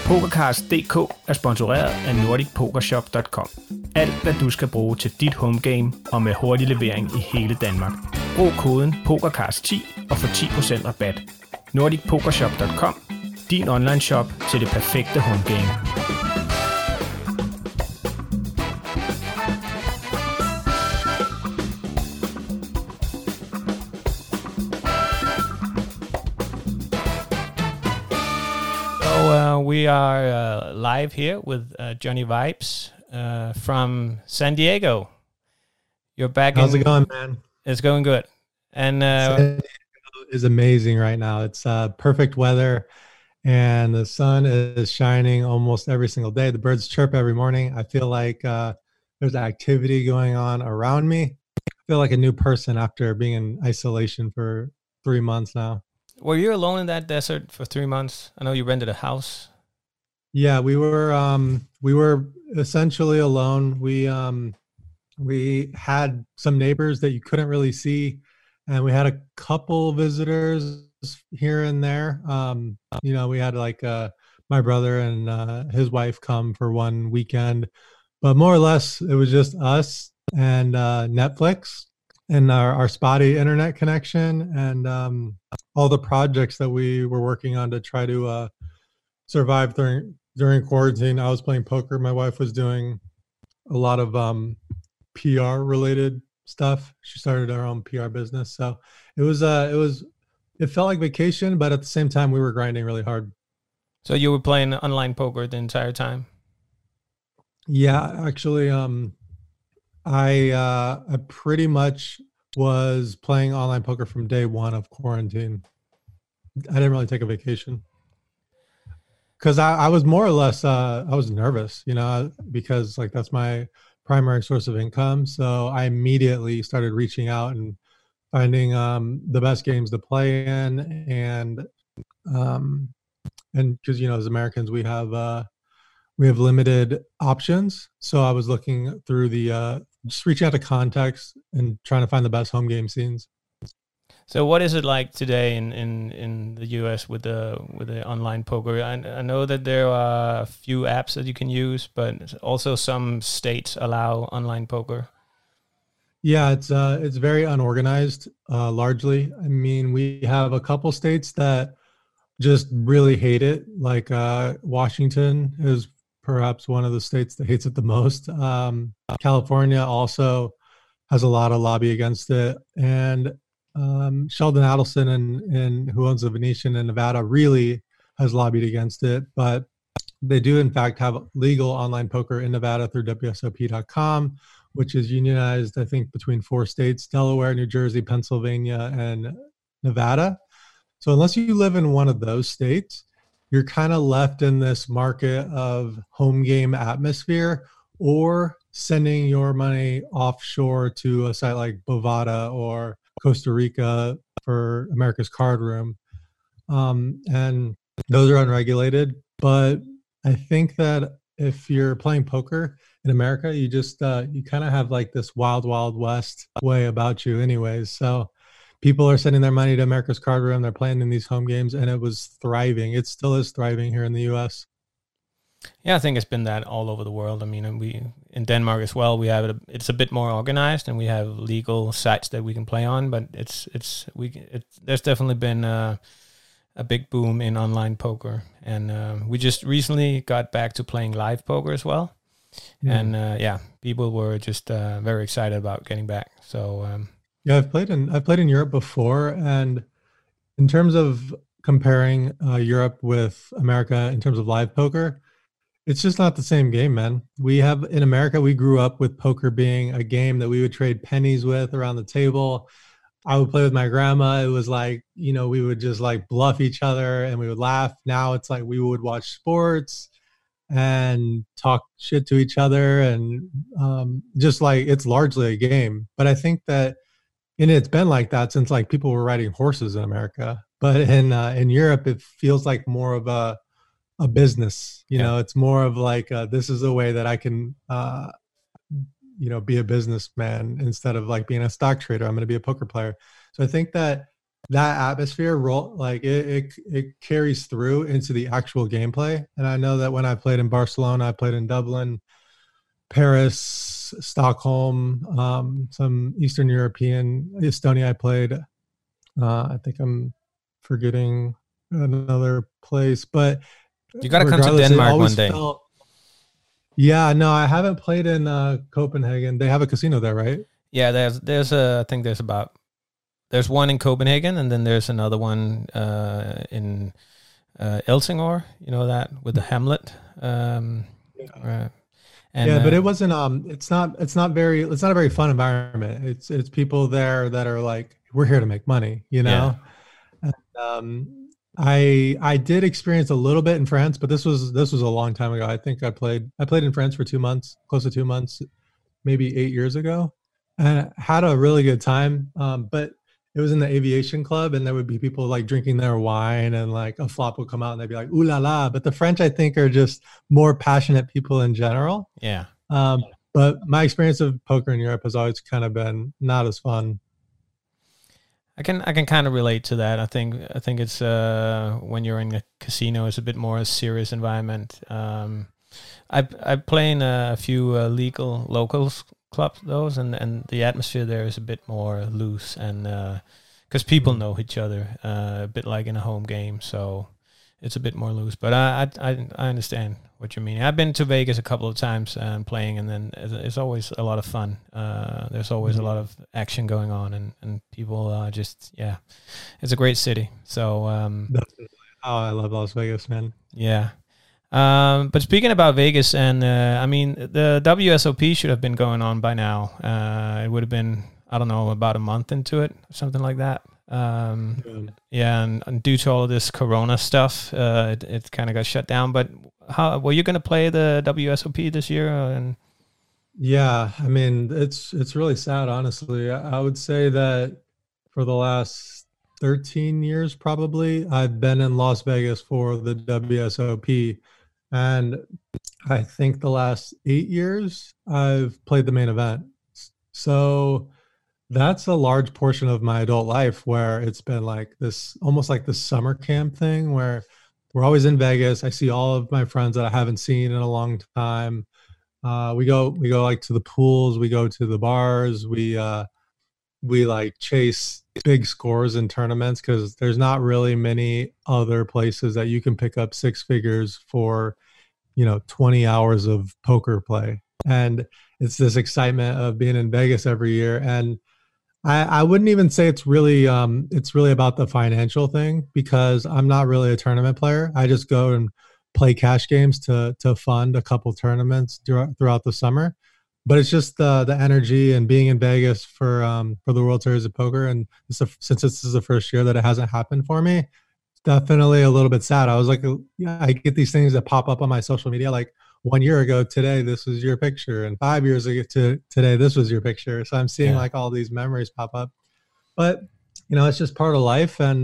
PokerCast.dk er sponsoreret af NordicPokerShop.com. Alt hvad du skal bruge til dit homegame og med hurtig levering i hele Danmark. Brug koden PokerCast10 og få 10% rabat. NordicPokerShop.com, din online shop til det perfekte homegame. We are live here with Johnny Vibes from San Diego. You're back. How's it going, man? It's going good. And San Diego is amazing right now. It's perfect weather, and the sun is shining almost every single day. The birds chirp every morning. I feel like there's activity going on around me. I feel like a new person after being in isolation for 3 months now. Were you alone in that desert for 3 months? I know you rented a house. Yeah, we were essentially alone. We had some neighbors that you couldn't really see, and we had a couple visitors here and there. We had like my brother and his wife come for one weekend, but more or less it was just us and Netflix and our spotty internet connection and all the projects that we were working on to try to survive during quarantine. I was playing poker. My wife was doing a lot of PR related stuff. She started her own PR business. So it felt like vacation, but at the same time we were grinding really hard. So you were playing online poker the entire time? Yeah, actually, I pretty much was playing online poker from day one of quarantine. I didn't really take a vacation because I was more or less I was nervous, because like that's my primary source of income. So I immediately started reaching out and finding the best games to play in, and because as Americans we have limited options. So I was looking through just reaching out to contacts and trying to find the best home game scenes. So what is it like today in the US with the online poker? I know that there are a few apps that you can use, but also some states allow online poker. Yeah, it's very unorganized, largely. I mean, we have a couple states that just really hate it. Like Washington is perhaps one of the states that hates it the most. California also has a lot of lobby against it, and Sheldon Adelson and who owns the Venetian in Nevada really has lobbied against it. But they do in fact have legal online poker in Nevada through WSOP.com, which is unionized, I think, between 4 states: Delaware, New Jersey, Pennsylvania, and Nevada. So unless you live in one of those states, you're kind of left in this market of home game atmosphere or sending your money offshore to a site like Bovada or Costa Rica for America's Card Room. And those are unregulated. But I think that if you're playing poker in America, you just, you kind of have like this wild, wild west way about you anyways. So people are sending their money to America's Card Room. They're playing in these home games, and it was thriving. It still is thriving here in the U.S. Yeah, I think it's been that all over the world. I mean, we in Denmark as well. We have it's a bit more organized, and we have legal sites that we can play on. But there's definitely been a big boom in online poker, and we just recently got back to playing live poker as well. And people were just very excited about getting back. So. Yeah, I've played in Europe before, and in terms of comparing Europe with America in terms of live poker, it's just not the same game, man. In America, we grew up with poker being a game that we would trade pennies with around the table. I would play with my grandma. It was like, we would just like bluff each other and we would laugh. Now it's like we would watch sports and talk shit to each other, and just like it's largely a game. But I think that it's been like that since like people were riding horses in America. But in Europe, it feels like more of a business. It's more of like this is a way that I can be a businessman instead of like being a stock trader. I'm going to be a poker player. So I think that that atmosphere roll like it carries through into the actual gameplay. And I know that when I played in Barcelona, I played in Dublin, Paris, Stockholm, some Eastern European, Estonia. I played. I think I'm forgetting another place, but You got to come to regardless, it Denmark one always day. felt. Yeah, no, I haven't played in Copenhagen. They have a casino there, right? Yeah, there's I think there's one in Copenhagen, and then there's another one in Helsingør. You know that with the Hamlet. Uh, and Yeah, but it wasn't. It's not a very fun environment. It's people there that are like, we're here to make money, you yeah, know. And, I did experience a little bit in France, but this was a long time ago. I think I played in France for 2 months, close to 2 months, maybe 8 years ago, and had a really good time. But it was in the aviation club, and there would be people like drinking their wine, and like a flop would come out, and they'd be like, "Ooh la la!" But the French, I think, are just more passionate people in general. yeah. Um, but my experience of poker in Europe has always kind of been not as fun. I can kind of relate to that. I think it's when you're in a casino, it's a bit more a serious environment. I play in a few legal locals clubs, those, and the atmosphere there is a bit more loose, and because people Mm. know each other, a bit like in a home game, so it's a bit more loose. But I understand what you mean. I've been to Vegas a couple of times and playing, and then it's always a lot of fun. There's always a lot of action going on, and people just yeah, it's a great city. So Definitely. Oh, I love Las Vegas, man. yeah. But speaking about Vegas, and I mean, the WSOP should have been going on by now. It would have been, I don't know, about a month into it, something like that. Yeah. Yeah, and due to all of this Corona stuff, it kind of got shut down. But how were you going to play the WSOP this year? And Yeah, I mean, it's really sad, honestly. I would say that for the last 13 years, probably, I've been in Las Vegas for the WSOP. And I think the last 8 years, I've played the main event. So that's a large portion of my adult life where it's been like this, almost like this summer camp thing where we're always in Vegas. I see all of my friends that I haven't seen in a long time. We go like to the pools, we go to the bars, we like chase big scores in tournaments because there's not really many other places that you can pick up six figures for 20 hours of poker play. And it's this excitement of being in Vegas every year. And I wouldn't even say it's really about the financial thing because I'm not really a tournament player. I just go and play cash games to fund a couple tournaments throughout the summer. But it's just the energy and being in Vegas for the World Series of Poker, and since this is the first year that it hasn't happened for me, it's definitely a little bit sad. I was like, yeah, I get these things that pop up on my social media like 1 year ago today this was your picture, and 5 years ago to today this was your picture. So I'm seeing yeah, like all these memories pop up. But it's just part of life. And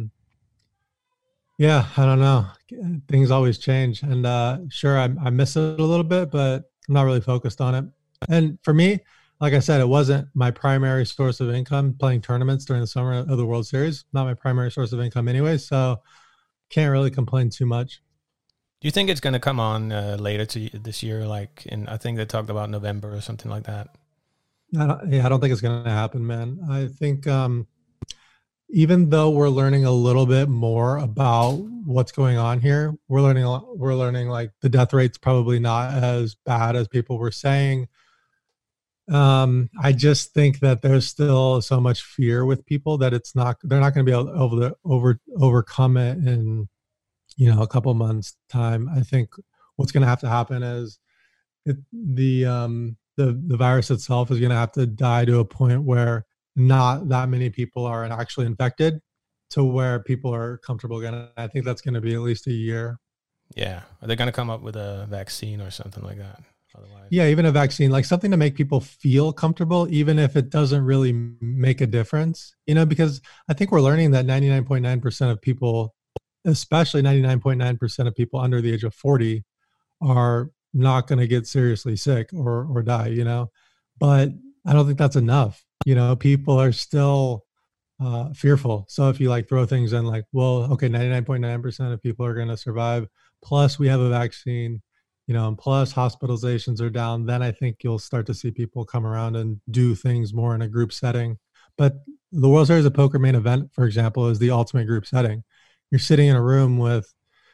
yeah, I don't know, things always change. And sure, I miss it a little bit, but I'm not really focused on it. And for me, like I said, it wasn't my primary source of income playing tournaments during the summer of the World Series. Not my primary source of income anyway, so can't really complain too much. do you think it's going to come on later this year? Like I think they talked about November or something like that. I don't think it's going to happen, man. I think even though we're learning a little bit more about what's going on here, we're learning like the death rate's probably not as bad as people were saying. I just think that there's still so much fear with people that they're not going to be able to overcome it in a couple months time. I think what's going to have to happen is the virus itself is going to have to die to a point where not that many people are actually infected to where people are comfortable again. And I think that's going to be at least a year. Yeah, are they going to come up with a vaccine or something like that? Otherwise, Yeah, even a vaccine, like something to make people feel comfortable, even if it doesn't really make a difference, because I think we're learning that 99.9% of people, especially 99.9% of people under the age of 40, are not going to get seriously sick or die. But I don't think that's enough. People are still fearful. So if you like throw things in like, well, okay, 99.9% of people are going to survive. Plus we have a vaccine, and plus hospitalizations are down. Then I think you'll start to see people come around and do things more in a group setting. But the World Series of Poker main event, for example, is the ultimate group setting. You're sitting in a room with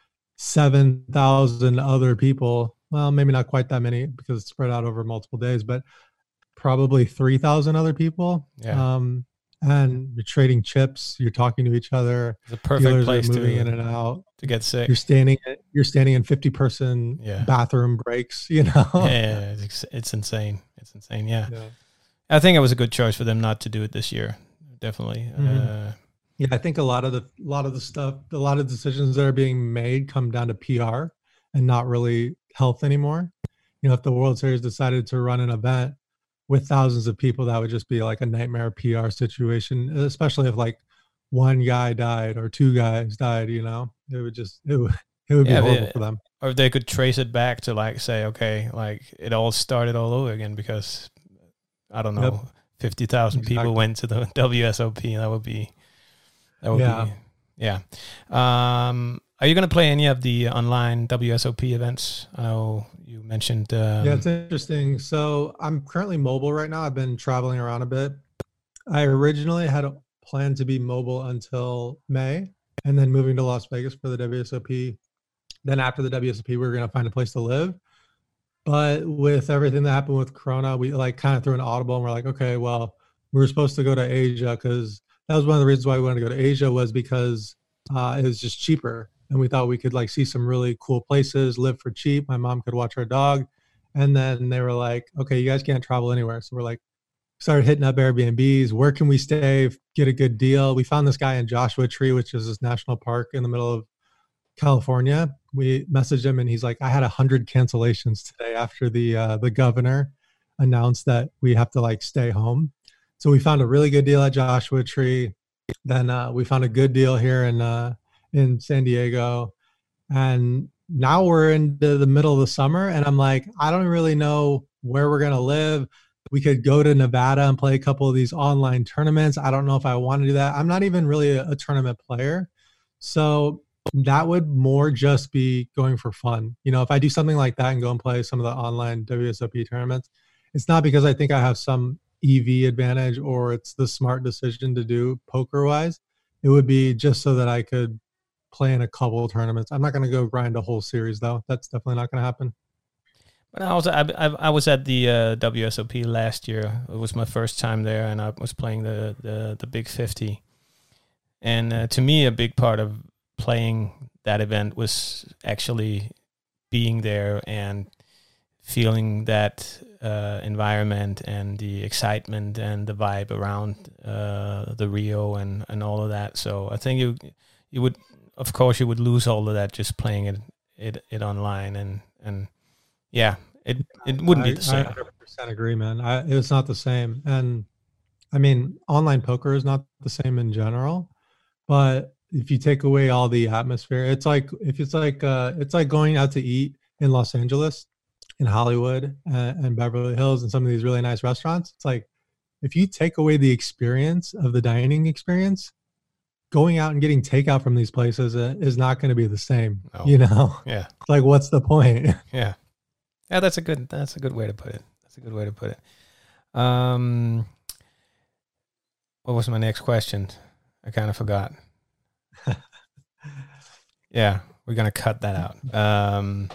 7,000 other people. Well, maybe not quite that many because it's spread out over multiple days, but probably 3,000 other people. Yeah. And you're trading chips, you're talking to each other. It's a perfect place moving in and out to get sick. You're standing in 50-person bathroom breaks, Yeah, it's insane. It's insane. Yeah. I think it was a good choice for them not to do it this year. Definitely. Mm-hmm. Yeah, I think a lot of the decisions that are being made come down to PR and not really health anymore. If the World Series decided to run an event with thousands of people, that would just be like a nightmare PR situation, especially if like one guy died or two guys died, it would be horrible for them. Or if they could trace it back to like say, okay, like it all started all over again because I don't know, 50,000 people went to the WSOP. That would be yeah. Are you going to play any of the online WSOP events? I know you mentioned. Yeah, it's interesting. So I'm currently mobile right now. I've been traveling around a bit. I originally had a plan to be mobile until May and then moving to Las Vegas for the WSOP. Then after the WSOP, we were going to find a place to live. But with everything that happened with Corona, we like kind of threw an audible and we're like, okay, well, we were supposed to go to Asia because that was one of the reasons why we wanted to go to Asia was because it was just cheaper. And we thought we could like see some really cool places, live for cheap. My mom could watch our dog. And then they were like, okay, you guys can't travel anywhere. So we're like, started hitting up Airbnbs. Where can we stay? Get a good deal. We found this guy in Joshua Tree, which is this national park in the middle of California. We messaged him and he's like, I had 100 cancellations today after the governor announced that we have to like stay home. So we found a really good deal at Joshua Tree. Then we found a good deal here in San Diego. And now we're into the middle of the summer and I'm like, I don't really know where we're going to live. We could go to Nevada and play a couple of these online tournaments. I don't know if I want to do that. I'm not even really a tournament player. So that would more just be going for fun. If I do something like that and go and play some of the online WSOP tournaments, it's not because I think I have some EV advantage or it's the smart decision to do poker wise. It would be just so that I could play in a couple of tournaments. I'm not going to go grind a whole series though. That's definitely not going to happen. But I was at the WSOP last year. It was my first time there, and I was playing the Big 50. And to me, a big part of playing that event was actually being there and feeling that environment and the excitement and the vibe around the Rio and all of that. So I think you would, of course, you would lose all of that just playing it online and yeah, it wouldn't be the same. I 100% agree, man. It's not the same. And I mean, online poker is not the same in general, but if you take away all the atmosphere, it's like going out to eat in Los Angeles, in Hollywood, and Beverly Hills, and some of these really nice restaurants. It's like if you take away the experience of the dining experience, going out and getting takeout from these places is not going to be the same. No. Yeah. It's like, what's the point? Yeah. Yeah, that's a good way to put it. What was my next question? I kind of forgot. Yeah, we're gonna cut that out.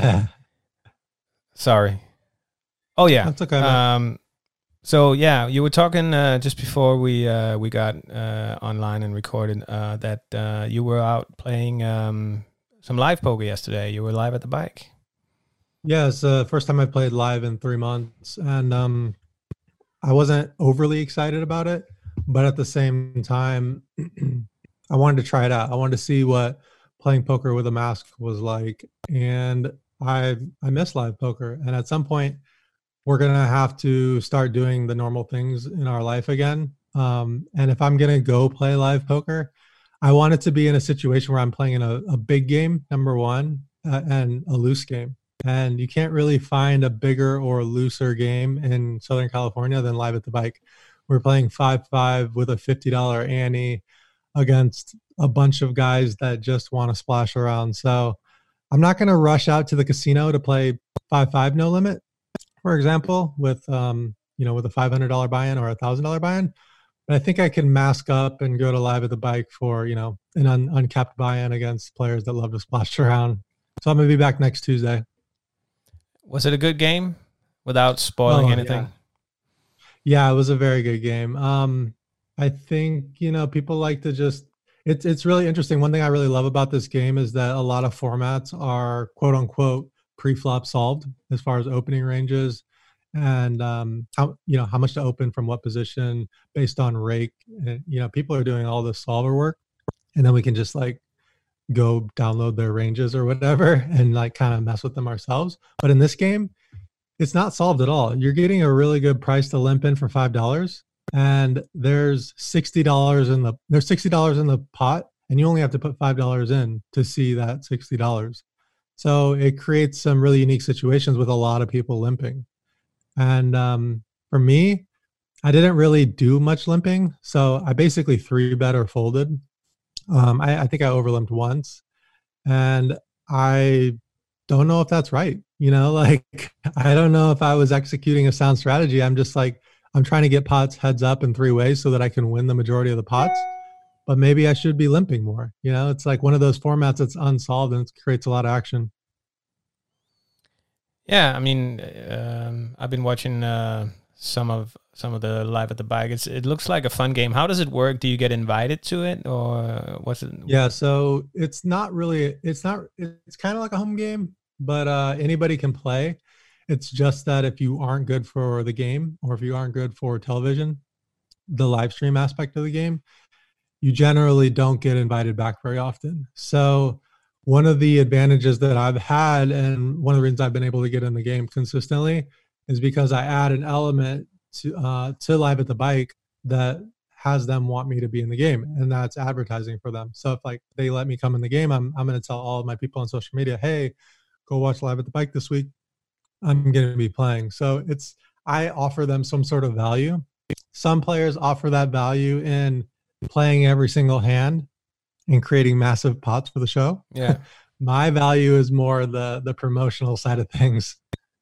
Sorry. Oh yeah. That's okay. So yeah, you were talking just before we got online and recorded that you were out playing some live poker yesterday. You were live at the bike. Yeah, it's the first time I played live in 3 months, and I wasn't overly excited about it, but at the same time, I wanted to try it out. I wanted to see what playing poker with a mask was like, and I miss live poker. And at some point, we're gonna have to start doing the normal things in our life again. And if I'm gonna go play live poker, I want it to be in a situation where I'm playing in a big game, number one, and a loose game. And you can't really find a bigger or looser game in Southern California than Live at the Bike. we're playing 5-5 with a $50 ante against a bunch of guys that just want to splash around. So I'm not going to rush out to the casino to play 5-5 no limit, for example, with with a $500 buy-in or $1,000 buy-in. But I think I can mask up and go to Live at the Bike for an uncapped buy-in against players that love to splash around. So I'm gonna be back next Tuesday. Was it a good game without spoiling anything? Yeah, it was a very good game. I think people like to just it's really interesting. One thing I really love about this game is that a lot of formats are quote unquote pre-flop solved as far as opening ranges and how much to open from what position based on rake. And, people are doing all the solver work, and then we can just like go download their ranges or whatever and like kind of mess with them ourselves. But in this game, it's not solved at all. You're getting a really good price to limp in for $5, and there's $60 in the pot, and you only have to put $5 in to see that $60. So it creates some really unique situations with a lot of people limping. And for me, I didn't really do much limping, so I basically 3-bet or folded. I think I overlimped once, and I don't know if that's right. Like I don't know if I was executing a sound strategy. I'm just like, I'm trying to get pots heads up in 3 ways so that I can win the majority of the pots. But maybe I should be limping more. It's like one of those formats that's unsolved and it creates a lot of action. Yeah, I mean, I've been watching some of the Live at the Bike. It looks like a fun game. How does it work? Do you get invited to it, or what's it? Yeah, so it's kind of like a home game, but anybody can play. It's just that if you aren't good for the game, or if you aren't good for television, the live stream aspect of the game, you generally don't get invited back very often. So one of the advantages that I've had, and one of the reasons I've been able to get in the game consistently, is because I add an element to Live at the Bike that has them want me to be in the game, and that's advertising for them. So if like they let me come in the game, I'm going to tell all of my people on social media, hey, go watch Live at the Bike this week. I'm going to be playing. So I offer them some sort of value. Some players offer that value in playing every single hand and creating massive pots for the show. Yeah. My value is more the promotional side of things.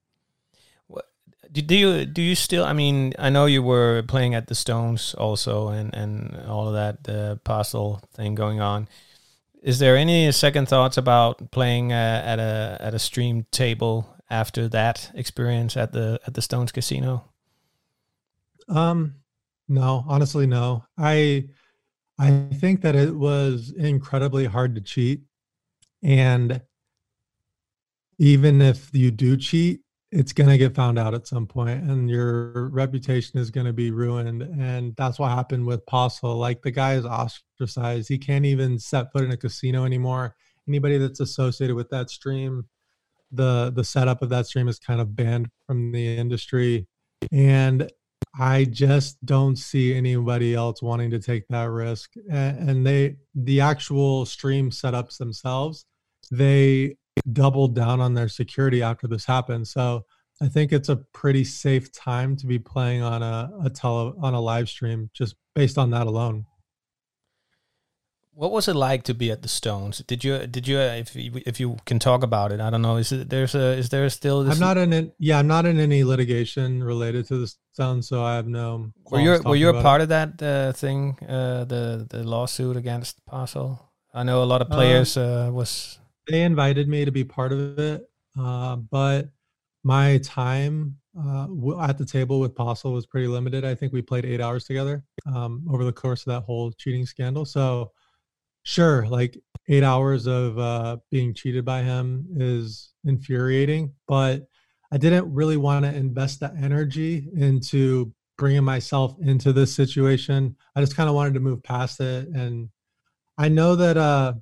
Do you still, I mean, I know you were playing at the Stones also and all of that, the Postle thing going on. Is there any second thoughts about playing at a stream table after that experience at the Stones Casino? No, honestly, no. I think that it was incredibly hard to cheat. And even if you do cheat, it's going to get found out at some point and your reputation is going to be ruined. And that's what happened with Postle. Like the guy is ostracized. He can't even set foot in a casino anymore. Anybody that's associated with that stream, the setup of that stream is kind of banned from the industry. And I just don't see anybody else wanting to take that risk. And the actual stream setups themselves, they doubled down on their security after this happened. So I think it's a pretty safe time to be playing on a live stream just based on that alone. What was it like to be at the Stones? Did you if you can talk about it? I don't know. Is there still this? I'm not in any litigation related to the Stones, so I have no. Were you a part of that thing? The lawsuit against Postle? I know a lot of players They invited me to be part of it, but my time at the table with Postle was pretty limited. I think we played 8 hours together over the course of that whole cheating scandal. So sure, like 8 hours of being cheated by him is infuriating, but I didn't really want to invest that energy into bringing myself into this situation. I just kind of wanted to move past it. And I know that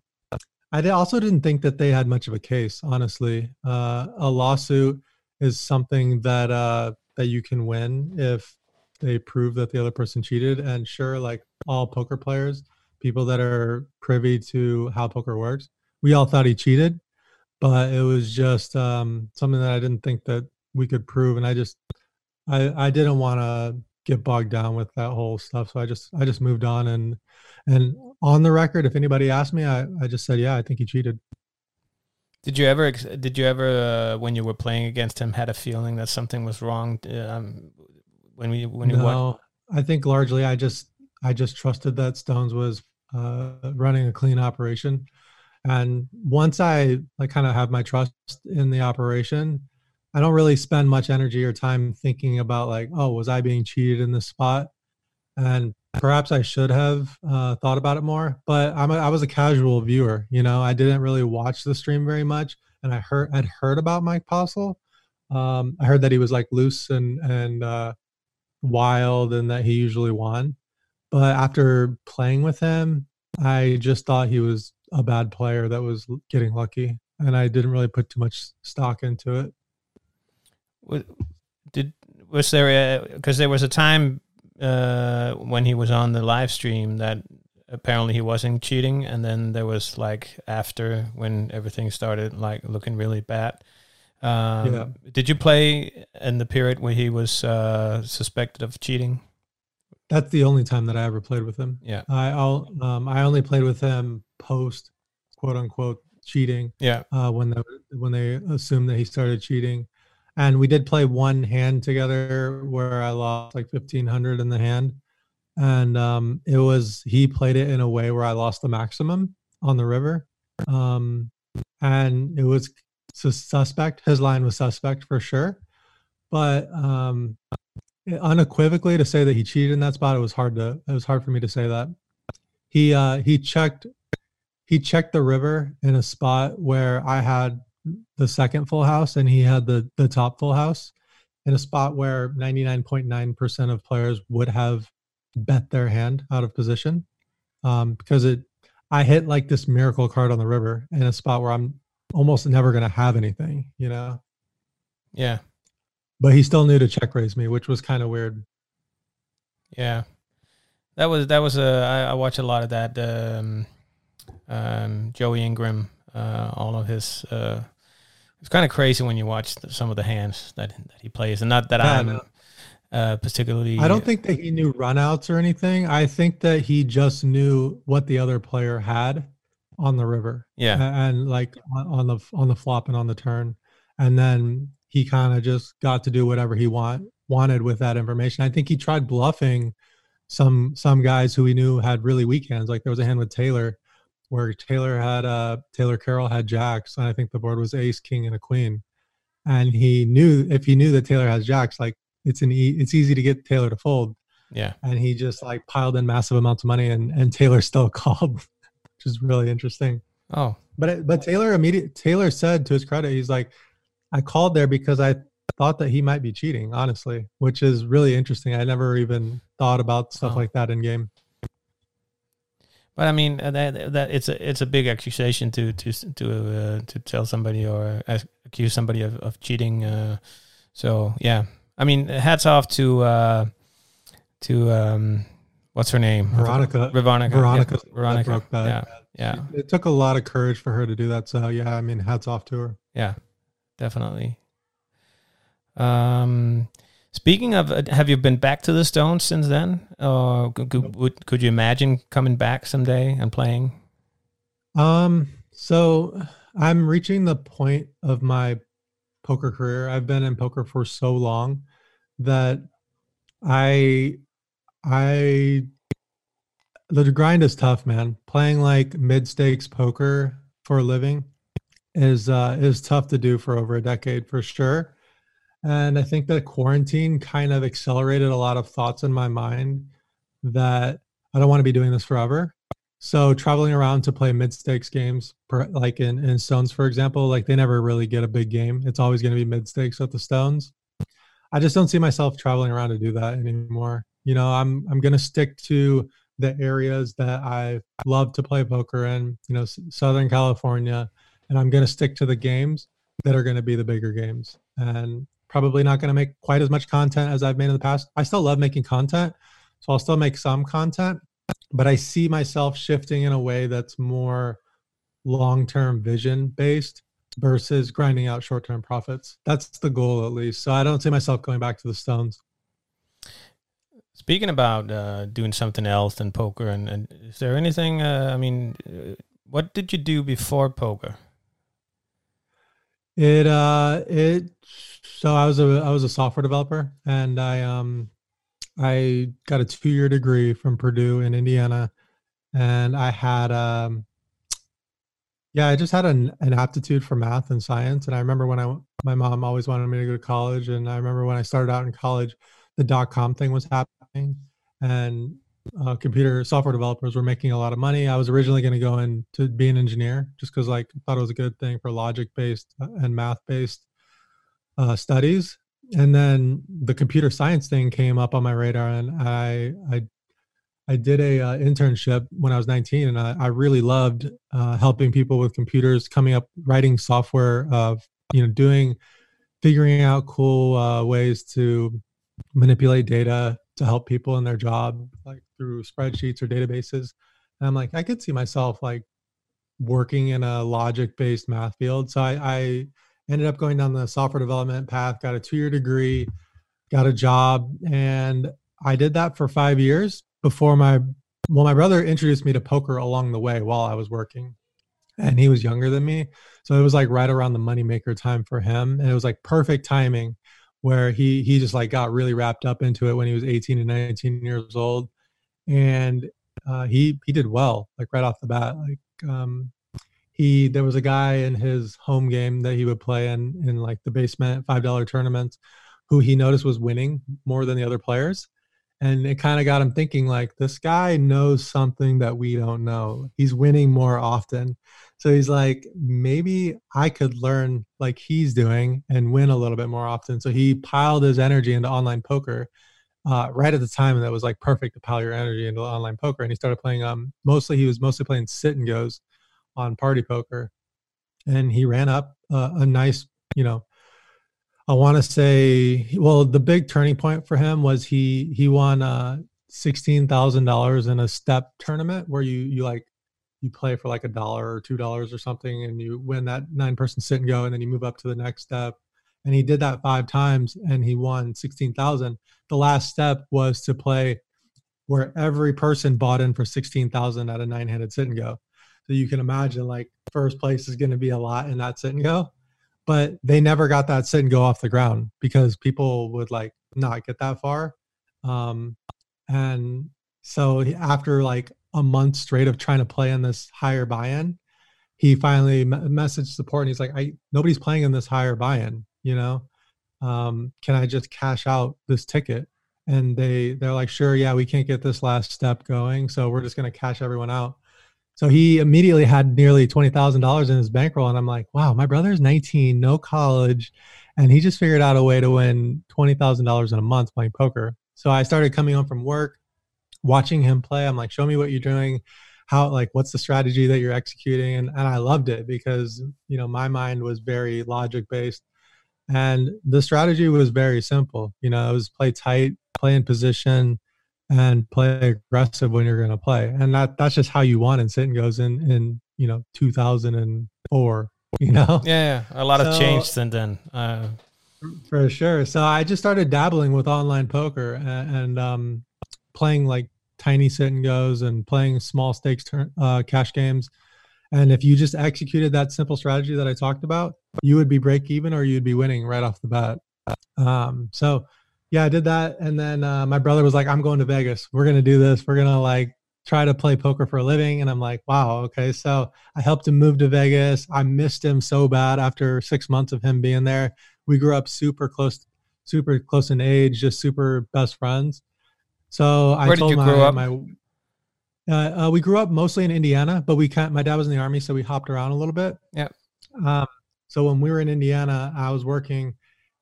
I also didn't think that they had much of a case, honestly. A lawsuit is something that you can win if they prove that the other person cheated. And sure, like all poker players, people that are privy to how poker works, we all thought he cheated, but it was just something that I didn't think that we could prove. And I didn't want to get bogged down with that whole stuff. So I just moved on, and on the record, if anybody asked me, I just said, yeah, I think he cheated. Did you ever, when you were playing against him, had a feeling that something was wrong? When you No, I think largely I just trusted that Stones was running a clean operation. And once I like kind of have my trust in the operation, I don't really spend much energy or time thinking about like, oh, was I being cheated in this spot? And perhaps I should have thought about it more. But I was a casual viewer, you know. I didn't really watch the stream very much, and I'd heard about Mike Postle. I heard that he was like loose and wild, and that he usually won. But after playing with him, I just thought he was a bad player that was getting lucky, and I didn't really put too much stock into it. Was there because there was a time when he was on the live stream that apparently he wasn't cheating, and then there was like after when everything started like looking really bad. Did you play in the period where he was suspected of cheating? That's the only time that I ever played with him. Yeah, I only played with him post quote unquote cheating. Yeah, when they assumed that he started cheating, and we did play one hand together where I lost like 1,500 in the hand, and it was he played it in a way where I lost the maximum on the river, and it was suspect. His line was suspect for sure, but unequivocally to say that he cheated in that spot, it was hard for me to say that. He checked the river in a spot where I had the second full house and he had the top full house, in a spot where 99.9% of players would have bet their hand out of position, because I hit like this miracle card on the river in a spot where I'm almost never going to have anything, you know? Yeah. But he still knew to check raise me, which was kind of weird. Yeah. That was I watch a lot of that. Joey Ingram, all of his, it's kind of crazy when you watch some of the hands that he plays, and not that I'm particularly. I don't think that he knew runouts or anything. I think that he just knew what the other player had on the river. Yeah. And like on the flop and on the turn, and then he kind of just got to do whatever he wanted with that information. I think he tried bluffing some guys who he knew had really weak hands. Like there was a hand with Taylor where Taylor Carroll had jacks, and I think the board was ace, king, and a queen. And he knew if he knew that Taylor has jacks, like it's easy to get Taylor to fold. Yeah. And he just like piled in massive amounts of money, and Taylor still called, which is really interesting. Oh, but Taylor said, to his credit, he's like, I called there because I thought that he might be cheating, honestly, which is really interesting. I never even thought about stuff like that in game. But I mean, that it's a big accusation to tell somebody or accuse somebody of cheating. So yeah, I mean, hats off to what's her name? Veronica. Veronica broke that. Yeah. It took a lot of courage for her to do that. So yeah, I mean, hats off to her. Yeah, definitely. Speaking of, have you been back to the Stones since then? Or could you imagine coming back someday and playing? So I'm reaching the point of my poker career. I've been in poker for so long that the grind is tough, man. Playing like mid-stakes poker for a living is tough to do for over a decade for sure. And I think that quarantine kind of accelerated a lot of thoughts in my mind that I don't want to be doing this forever. So traveling around to play mid-stakes games, like in Stones, for example, like they never really get a big game. It's always going to be mid-stakes at the Stones. I just don't see myself traveling around to do that anymore. You know, I'm going to stick to the areas that I love to play poker in, you know, Southern California, and I'm going to stick to the games that are going to be the bigger games. And probably not going to make quite as much content as I've made in the past. I still love making content, so I'll still make some content, but I see myself shifting in a way that's more long-term vision based versus grinding out short-term profits. That's the goal, at least. So I don't see myself going back to the Stones. Speaking about doing something else than poker, and is there anything? What did you do before poker? It so I was a software developer, and I got a 2-year degree from Purdue in Indiana, and I had yeah, I just had an aptitude for math and science. And I remember when my mom always wanted me to go to college. And I remember when I started out in college, the .com thing was happening, and computer software developers were making a lot of money. I was originally going to go in to be an engineer just because like I thought it was a good thing for logic based and math based studies. And then the computer science thing came up on my radar, and I did a internship when I was 19, and I really loved helping people with computers, coming up, writing software, doing, figuring out cool ways to manipulate data to help people in their job, like through spreadsheets or databases. And I'm like, I could see myself like working in a logic-based math field. So I ended up going down the software development path, got a 2-year degree, got a job, and I did that for 5 years before my brother introduced me to poker along the way while I was working, and he was younger than me. So it was like right around the moneymaker time for him. And it was like perfect timing where he just like got really wrapped up into it when he was 18 and 19 years old. And he did well, like right off the bat. Like there was a guy in his home game that he would play in like the basement $5 tournaments who he noticed was winning more than the other players. And it kind of got him thinking like, this guy knows something that we don't know. He's winning more often. So he's like, maybe I could learn like he's doing and win a little bit more often. So he piled his energy into online poker right at the time, and that was like perfect to pile your energy into online poker. And he started playing he was mostly playing sit and goes on party poker, and he ran up a nice, I want to say, well, the big turning point for him was he won $16,000 in a step tournament where you play for like $1 or $2 or something, and you win that 9-person sit and go, and then you move up to the next step. And he did that 5 times, and he won 16,000. The last step was to play where every person bought in for 16,000 at a 9-handed sit and go. So you can imagine like first place is going to be a lot in that sit and go, but they never got that sit and go off the ground because people would like not get that far. And so after like a month straight of trying to play in this higher buy-in, he finally messaged support, and he's like, nobody's playing in this higher buy-in, can I just cash out this ticket? And they're like, sure, yeah, we can't get this last step going, so we're just going to cash everyone out. So he immediately had nearly $20,000 in his bankroll. And I'm like, wow, my brother's 19, no college, and he just figured out a way to win $20,000 in a month playing poker. So I started coming home from work, watching him play. I'm like, show me what you're doing. What's the strategy that you're executing? And I loved it because, my mind was very logic based. And the strategy was very simple. It was play tight, play in position, and play aggressive when you're going to play. And that's just how you won in sit and goes in 2004, Yeah, a lot of change since then. For sure. So I just started dabbling with online poker and playing like tiny sit and goes and playing small stakes cash games. And if you just executed that simple strategy that I talked about, you would be break even or you'd be winning right off the bat. So yeah, I did that. And then my brother was like, I'm going to Vegas. We're going to do this. We're going to like try to play poker for a living. And I'm like, wow, okay. So I helped him move to Vegas. I missed him so bad after 6 months of him being there. We grew up super close in age, just super best friends. So Where did you grow up? We grew up mostly in Indiana, but my dad was in the Army, so we hopped around a little bit. Yeah. So when we were in Indiana, I was working.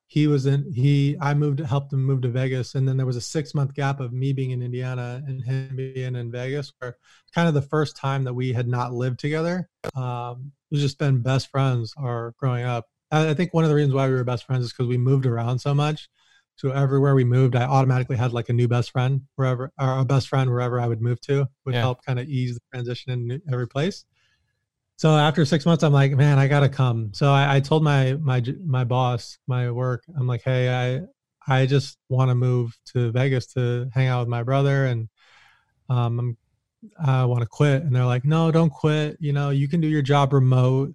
Helped him move to Vegas. And then there was a 6-month gap of me being in Indiana and him being in Vegas, where kind of the first time that we had not lived together. We've just been best friends growing up. I think one of the reasons why we were best friends is because we moved around so much. So everywhere we moved, I automatically had like a new best friend wherever I would move to. Would help kind of ease the transition in every place. So after 6 months, I'm like, man, I gotta come. So I told my boss, my work, I'm like, hey, I just want to move to Vegas to hang out with my brother, and um, I want to quit. And they're like, no, don't quit. You know, you can do your job remote.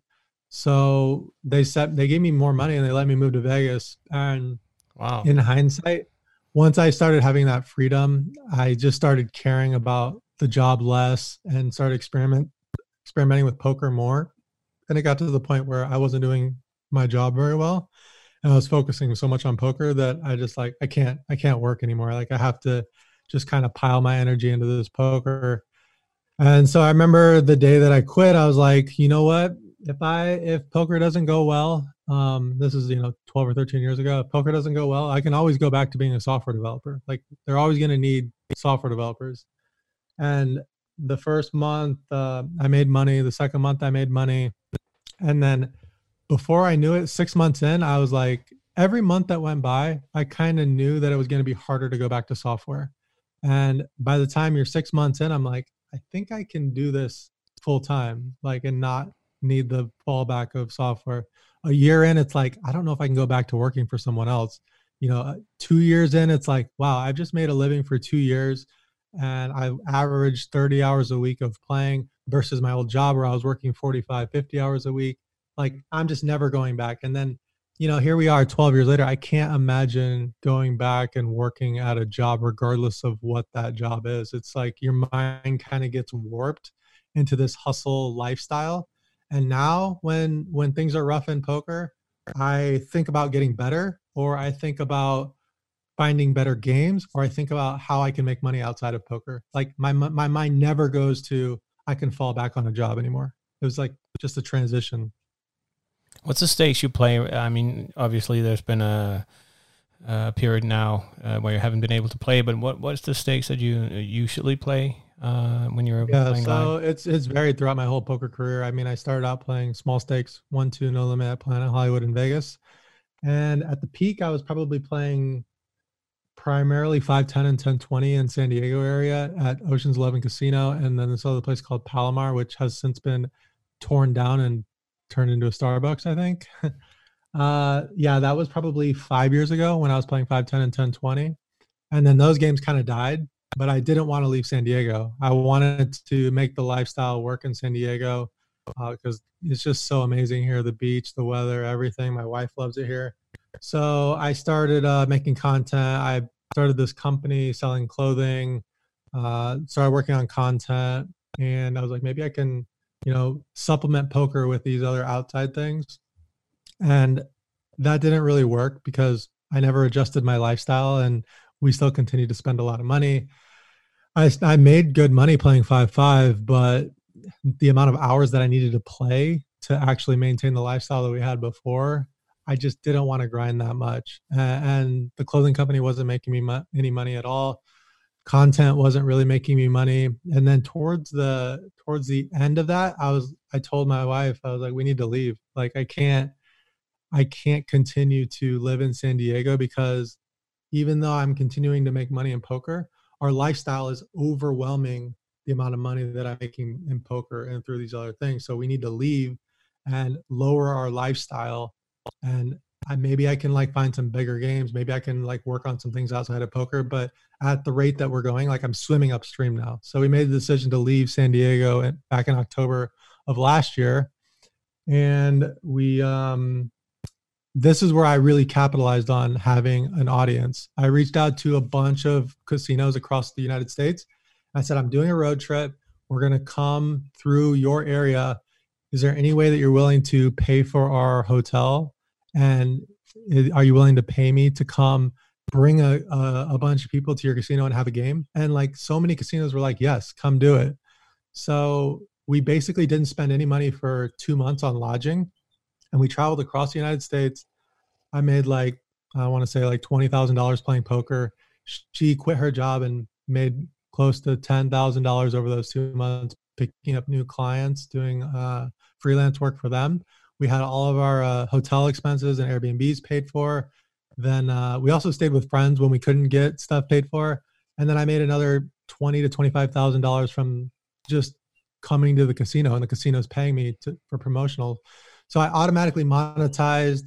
So they gave me more money and they let me move to Vegas. And Wow. in hindsight, once I started having that freedom, I just started caring about the job less and started experimenting with poker more. And it got to the point where I wasn't doing my job very well. And I was focusing so much on poker that I just like, I can't work anymore. Like I have to just kind of pile my energy into this poker. And so I remember the day that I quit, I was like, you know what? If poker doesn't go well, this is 12 or 13 years ago. If poker doesn't go well, I can always go back to being a software developer. Like they're always going to need software developers. And the first month I made money. The second month I made money, and then before I knew it, 6 months in, I was like, every month that went by, I kind of knew that it was going to be harder to go back to software. And by the time you're 6 months in, I'm like, I think I can do this full time, like, and not need the fallback of software. A year in, it's like, I don't know if I can go back to working for someone else. 2 years in, it's like, wow, I've just made a living for 2 years and I've averaged 30 hours a week of playing versus my old job where I was working 45, 50 hours a week. Like, I'm just never going back. And then, here we are 12 years later. I can't imagine going back and working at a job regardless of what that job is. It's like your mind kind of gets warped into this hustle lifestyle. And now when things are rough in poker, I think about getting better, or I think about finding better games, or I think about how I can make money outside of poker. Like my mind never goes to I can fall back on a job anymore. It was like just a transition. What's the stakes you play? I mean, obviously there's been a period now where you haven't been able to play, but what's the stakes that you usually play when you're playing live? It's varied throughout my whole poker career. I mean, I started out playing small stakes, 1-2, no limit at Planet Hollywood in Vegas. And at the peak, I was probably playing primarily 5-10 and 10-20 in San Diego area at Ocean's 11 Casino. And then this other place called Palomar, which has since been torn down and turned into a Starbucks, I think. Yeah, that was probably 5 years ago when I was playing 5-10 and 10-20. And then those games kind of died, but I didn't want to leave San Diego. I wanted to make the lifestyle work in San Diego because it's just so amazing here. The beach, the weather, everything. My wife loves it here. So I started making content. I started this company selling clothing, started working on content. And I was like, maybe I can, supplement poker with these other outside things. And that didn't really work because I never adjusted my lifestyle and we still continued to spend a lot of money. I made good money playing 5-5, but the amount of hours that I needed to play to actually maintain the lifestyle that we had before, I just didn't want to grind that much. And the clothing company wasn't making me any money at all. Content wasn't really making me money. And then towards the end of that, I told my wife, I was like, we need to leave. Like I can't continue to live in San Diego because even though I'm continuing to make money in poker, our lifestyle is overwhelming the amount of money that I'm making in poker and through these other things. So we need to leave and lower our lifestyle. And maybe I can like find some bigger games. Maybe I can like work on some things outside of poker, but at the rate that we're going, like I'm swimming upstream now. So we made the decision to leave San Diego back in October of last year. And this is where I really capitalized on having an audience. I reached out to a bunch of casinos across the United States. I said, I'm doing a road trip. We're going to come through your area. Is there any way that you're willing to pay for our hotel? And are you willing to pay me to come bring a bunch of people to your casino and have a game? And like so many casinos were like, yes, come do it. So we basically didn't spend any money for 2 months on lodging. And we traveled across the United States. I made like, I want to say like $20,000 playing poker. She quit her job and made close to $10,000 over those 2 months, picking up new clients, doing freelance work for them. We had all of our hotel expenses and Airbnbs paid for. Then we also stayed with friends when we couldn't get stuff paid for. And then I made another $20,000 to $25,000 from just coming to the casino, and the casino's paying me for promotional. So I automatically monetized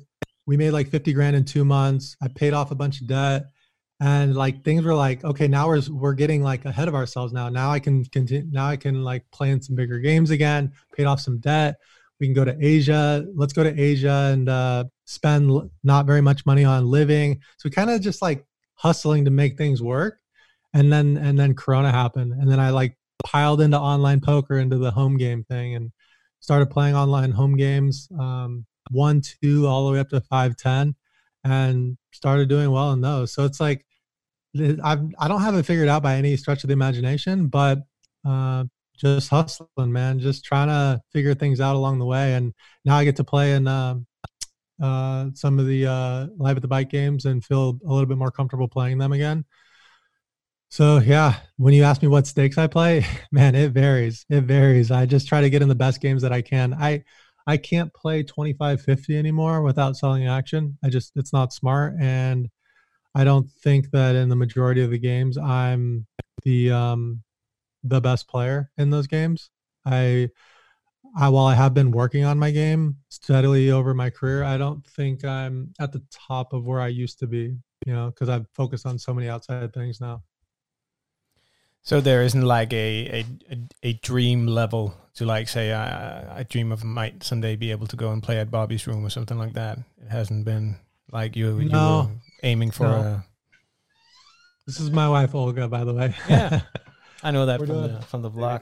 we made like 50 grand in 2 months. I paid off a bunch of debt, and like things were like, okay, now we're getting like ahead of ourselves now. Now I can continue. Now I can like play in some bigger games again. Paid off some debt. We can go to Asia. Let's go to Asia and spend not very much money on living. So we kind of just like hustling to make things work. And then Corona happened. And then I like piled into online poker, into the home game thing, and started playing online home games, 1, 2, all the way up to 5, 10, and started doing well in those. So it's like, I don't have it figured out by any stretch of the imagination, but just hustling, man, just trying to figure things out along the way. And now I get to play in some of the Live at the Bike games and feel a little bit more comfortable playing them again. So yeah, when you ask me what stakes I play, man, it varies. It varies. I just try to get in the best games that I can. I can't play 25-50 anymore without selling action. It's not smart. And I don't think that in the majority of the games I'm the best player in those games. While I have been working on my game steadily over my career, I don't think I'm at the top of where I used to be, because I've focused on so many outside things now. So there isn't like a dream level to like say I dream of might someday be able to go and play at Bobby's Room or something like that. It hasn't been like you were aiming for. No. This is my wife Olga, by the way. Yeah, I know that from the vlog.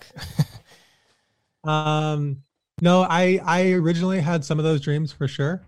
No, I originally had some of those dreams for sure,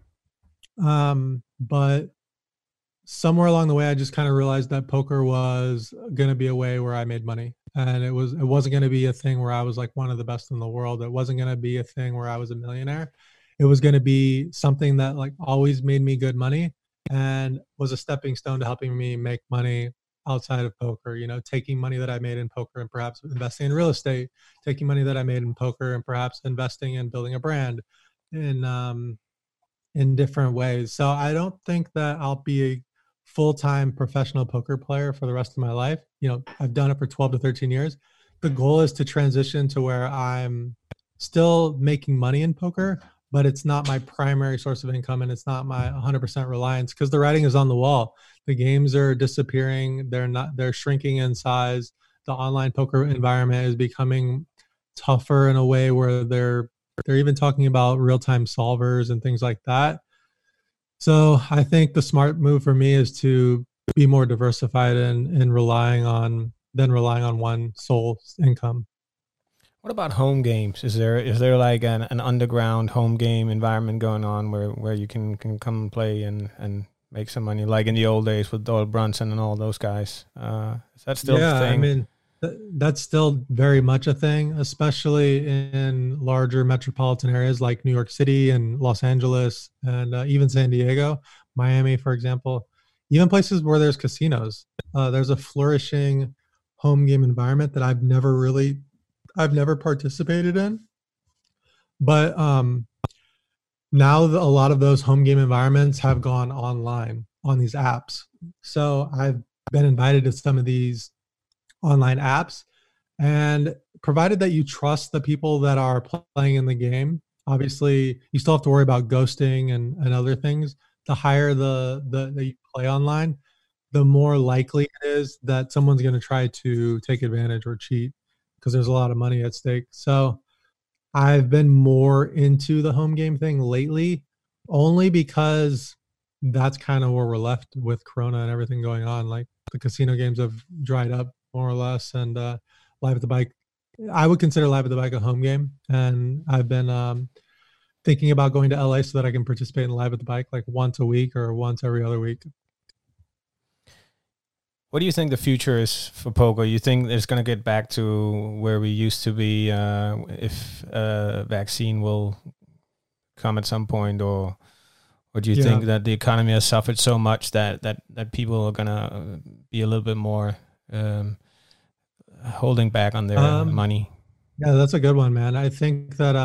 but somewhere along the way, I just kind of realized that poker was going to be a way where I made money, and it wasn't going to be a thing where I was like one of the best in the world. It wasn't going to be a thing where I was a millionaire. It was going to be something that like always made me good money and was a stepping stone to helping me make money outside of poker. Taking money that I made in poker and perhaps investing in real estate, taking money that I made in poker and perhaps investing in building a brand in different ways. So I don't think that I'll be a full-time professional poker player for the rest of my life. I've done it for 12 to 13 years. The goal is to transition to where I'm still making money in poker, but it's not my primary source of income and it's not my 100% reliance, because the writing is on the wall. The games are disappearing. They're shrinking in size. The online poker environment is becoming tougher in a way where they're even talking about real-time solvers and things like that. So I think the smart move for me is to be more diversified and relying on one sole income. What about home games? Is there like an underground home game environment going on where you can come and play and make some money, like in the old days with Doyle Brunson and all those guys? Is that still a thing? I mean, that's still very much a thing, especially in larger metropolitan areas like New York City and Los Angeles and even San Diego, Miami, for example, even places where there's casinos. There's a flourishing home game environment that I've never participated in. But now a lot of those home game environments have gone online on these apps. So I've been invited to some of these online apps, and provided that you trust the people that are playing in the game, obviously you still have to worry about ghosting and other things. The higher the you play online, the more likely it is that someone's going to try to take advantage or cheat, because there's a lot of money at stake. So I've been more into the home game thing lately, only because that's kind of where we're left with Corona and everything going on. Like the casino games have dried up more or less, and Live at the Bike, I would consider Live at the Bike a home game. And I've been thinking about going to LA so that I can participate in Live at the Bike like once a week or once every other week. What do you think the future is for poker? You think it's going to get back to where we used to be if a vaccine will come at some point, or do you think that the economy has suffered so much that people are going to be a little bit more holding back on their money? Yeah, that's a good one, man. I think that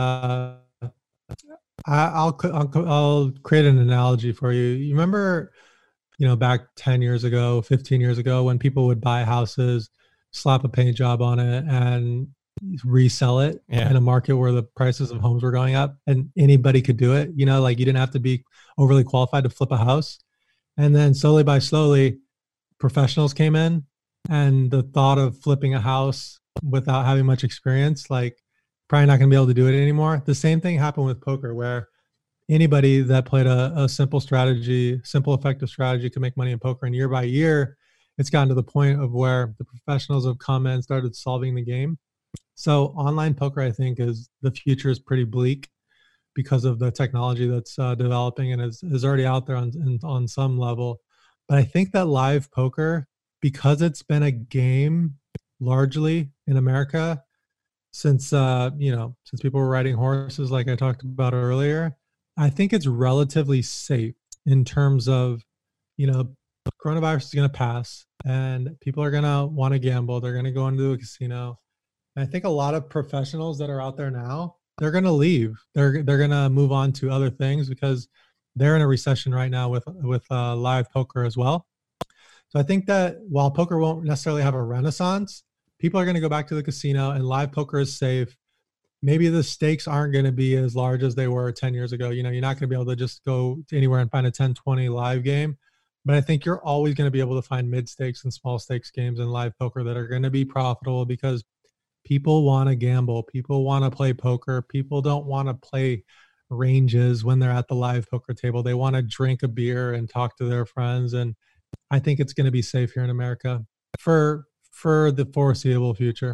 I'll create an analogy for you. You remember, back 10 years ago, 15 years ago, when people would buy houses, slap a paint job on it, and resell it in a market where the prices of homes were going up and anybody could do it. You know, like you didn't have to be overly qualified to flip a house. And then slowly, professionals came in, and the thought of flipping a house without having much experience, like probably not going to be able to do it anymore. The same thing happened with poker, where anybody that played a simple strategy, simple effective strategy could make money in poker. And year by year, it's gotten to the point of where the professionals have come in and started solving the game. So online poker, I think, is the future is pretty bleak because of the technology that's developing and is already out there on some level. But I think that live poker, because it's been a game largely in America since since people were riding horses, like I talked about earlier, I think it's relatively safe in terms of, coronavirus is going to pass and people are going to want to gamble. They're going to go into a casino. And I think a lot of professionals that are out there now, they're going to leave. They're going to move on to other things because they're in a recession right now with live poker as well. So I think that while poker won't necessarily have a renaissance, people are going to go back to the casino, and live poker is safe. Maybe the stakes aren't going to be as large as they were 10 years ago. You're not going to be able to just go anywhere and find a 10, 20 live game. But I think you're always going to be able to find mid stakes and small stakes games in live poker that are going to be profitable because people want to gamble. People want to play poker. People don't want to play ranges when they're at the live poker table. They want to drink a beer and talk to their friends. And I think it's going to be safe here in America for the foreseeable future.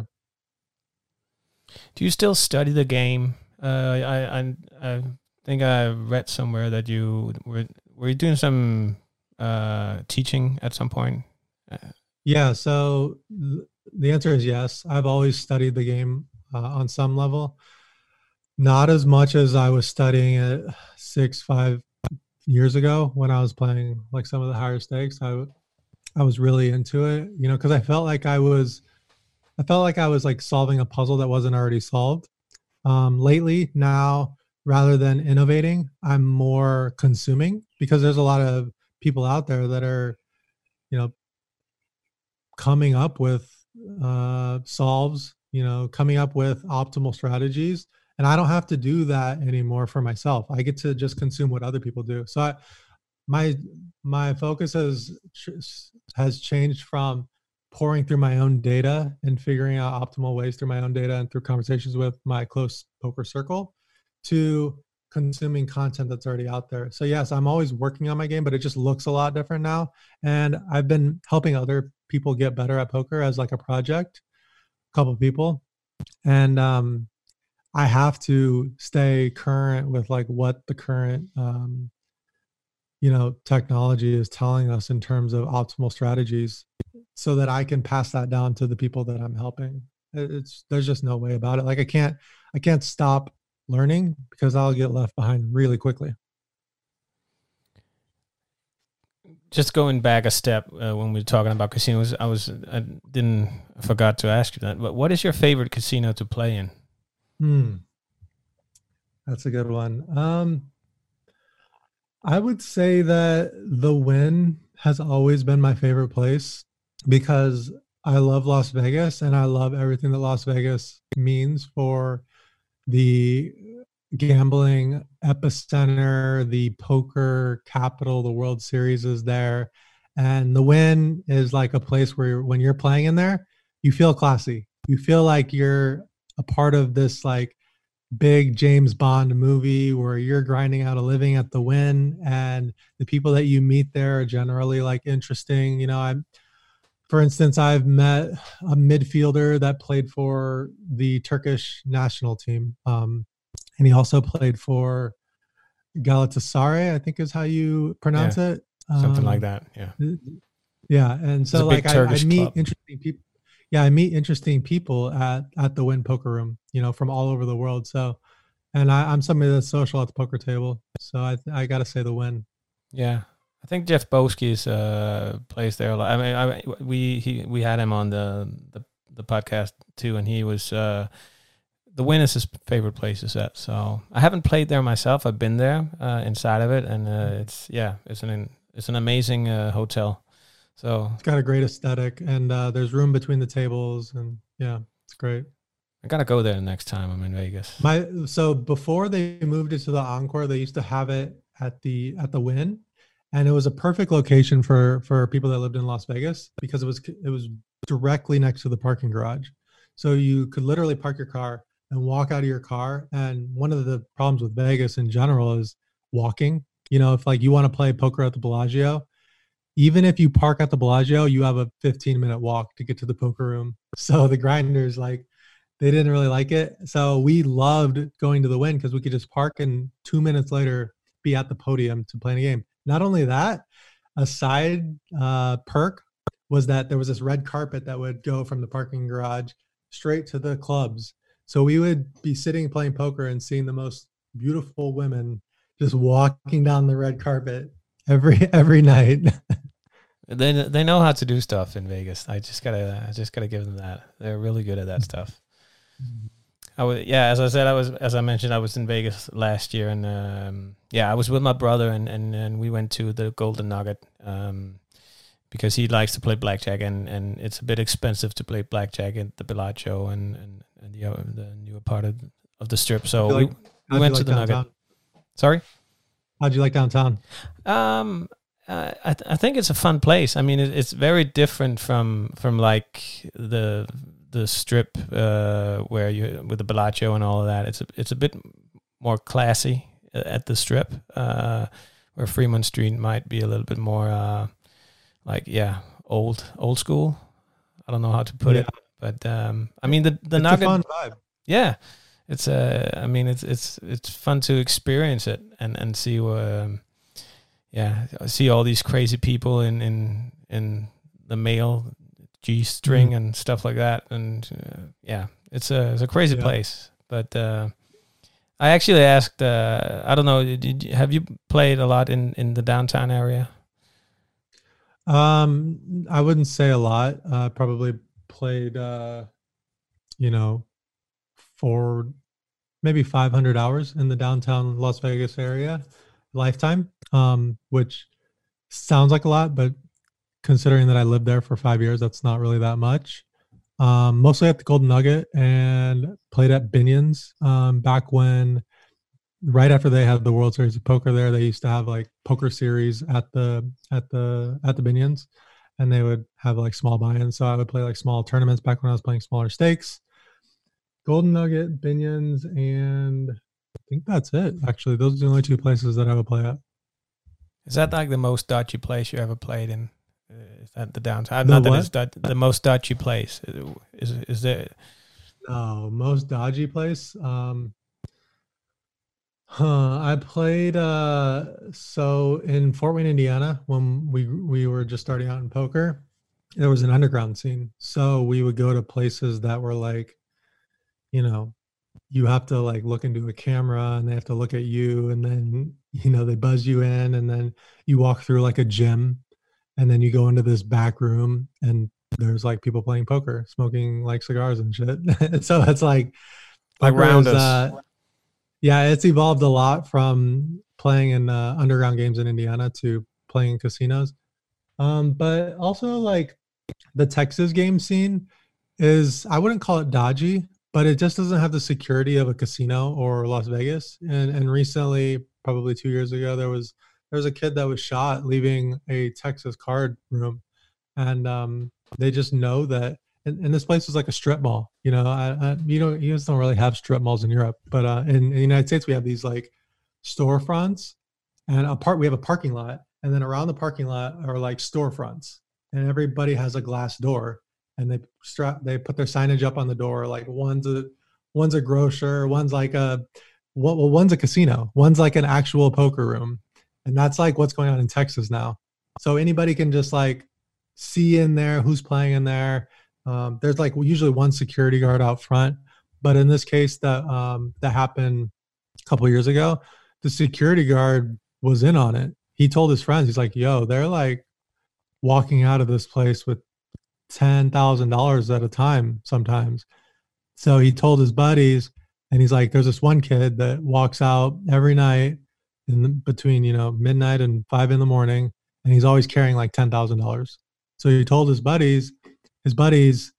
Do you still study the game? I think I read somewhere that you were you doing some teaching at some point? Yeah, so the answer is yes. I've always studied the game on some level. Not as much as I was studying it 5 years ago when I was playing like some of the higher stakes. I was really into it, because I felt like I was like solving a puzzle that wasn't already solved. Lately, now, rather than innovating, I'm more consuming because there's a lot of people out there that are, coming up with solves, coming up with optimal strategies. And I don't have to do that anymore for myself. I get to just consume what other people do. So my focus has changed from pouring through my own data and figuring out optimal ways through my own data and through conversations with my close poker circle to consuming content that's already out there. So yes, I'm always working on my game, but it just looks a lot different now. And I've been helping other people get better at poker as like a project, a couple of people. And I have to stay current with like what the current technology is telling us in terms of optimal strategies so that I can pass that down to the people that I'm helping. There's just no way about it. Like I can't stop learning because I'll get left behind really quickly. Just going back a step when we were talking about casinos, I forgot to ask you that, but what is your favorite casino to play in? That's a good one. I would say that the Wynn has always been my favorite place because I love Las Vegas and I love everything that Las Vegas means for the gambling epicenter, the poker capital. The World Series is there. And the Wynn is like a place where when you're playing in there, you feel classy. You feel like you're a part of this like big James Bond movie where you're grinding out a living at the Wynn, and the people that you meet there are generally like interesting. For instance, I've met a midfielder that played for the Turkish national team. And he also played for Galatasaray, I think is how you pronounce it. Something like that. Yeah. Yeah. And so like I meet interesting people. Yeah, I meet interesting people at the Wynn Poker Room, from all over the world. So, and I'm somebody that's social at the poker table. So I got to say the Wynn. Yeah, I think Jeff Boski's plays there a lot. I mean, we had him on the podcast too, and he was the Wynn is his favorite place to set. So I haven't played there myself. I've been there inside of it, and it's an amazing hotel. So it's got a great aesthetic, and there's room between the tables, and yeah, it's great. I gotta go there next time I'm in Vegas. So before they moved it to the Encore, they used to have it at the Wynn, and it was a perfect location for people that lived in Las Vegas because it was directly next to the parking garage. So you could literally park your car and walk out of your car. And one of the problems with Vegas in general is walking. You know, if like you want to play poker at the Bellagio, even if you park at the Bellagio, you have a 15-minute walk to get to the poker room. So the grinders, like, they didn't really like it. So we loved going to the Wynn because we could just park and 2 minutes later be at the podium to play a game. Not only that, a side perk was that there was this red carpet that would go from the parking garage straight to the clubs. So we would be sitting playing poker and seeing the most beautiful women just walking down the red carpet every night. They know how to do stuff in Vegas. I just gotta give them that. They're really good at that stuff. As I mentioned, I was in Vegas last year, and I was with my brother, and we went to the Golden Nugget because he likes to play blackjack, and it's a bit expensive to play blackjack at the Bellagio and the newer part of the Strip. So we went to the downtown? Nugget. Sorry? How'd you like downtown? I think it's a fun place. I mean, it's very different from like the Strip where you with the Bellagio and all of that. It's a bit more classy at the Strip, where Fremont Street might be a little bit more old school. I don't know how to put it, but I mean the Nugget. It's a fun vibe. Yeah, it's fun to experience it and see see all these crazy people in the male G-string and stuff like that, and it's a crazy place. But I actually asked, I don't know, have you played a lot in the downtown area? I wouldn't say a lot. Probably played, for maybe 500 hours in the downtown Las Vegas area, lifetime, which sounds like a lot, but considering that I lived there for 5 years, that's not really that much. Mostly at the Golden Nugget and played at Binion's. Back when, right after they had the World Series of Poker there, they used to have like poker series at the Binion's, and they would have like small buy-ins. So I would play like small tournaments back when I was playing smaller stakes. Golden Nugget, Binion's, and I think that's it. Actually, those are the only two places that I would play at. Is that like the most dodgy place you ever played in? Is that the downtown? Not that it's the most dodgy place. Is there? No, most dodgy place. I played so in Fort Wayne, Indiana, when we were just starting out in poker, there was an underground scene. So we would go to places that were like, you have to like look into a camera and they have to look at you, and then they buzz you in, and then you walk through like a gym, and then you go into this back room and there's like people playing poker, smoking like cigars and shit. So it's like around us. It's evolved a lot from playing in underground games in Indiana to playing in casinos. But also like the Texas game scene is, I wouldn't call it dodgy, but it just doesn't have the security of a casino or Las Vegas. And recently, probably 2 years ago, there was a kid that was shot leaving a Texas card room, and they just know that. And this place was like a strip mall. You guys don't really have strip malls in Europe, but in the United States we have these like storefronts, and we have a parking lot, and then around the parking lot are like storefronts, and everybody has a glass door, and they put their signage up on the door, like one's a grocer, one's like one's a casino, one's like an actual poker room, and that's like what's going on in Texas now. So anybody can just like see in there who's playing in there. There's like usually one security guard out front, but in this case that happened a couple of years ago, the security guard was in on it. He told his friends, he's like, "Yo, they're like walking out of this place with $10,000 at a time sometimes." So he told his buddies, and he's like, "There's this one kid that walks out every night between midnight and 5 a.m, and he's always carrying like $10,000." So he told his buddies,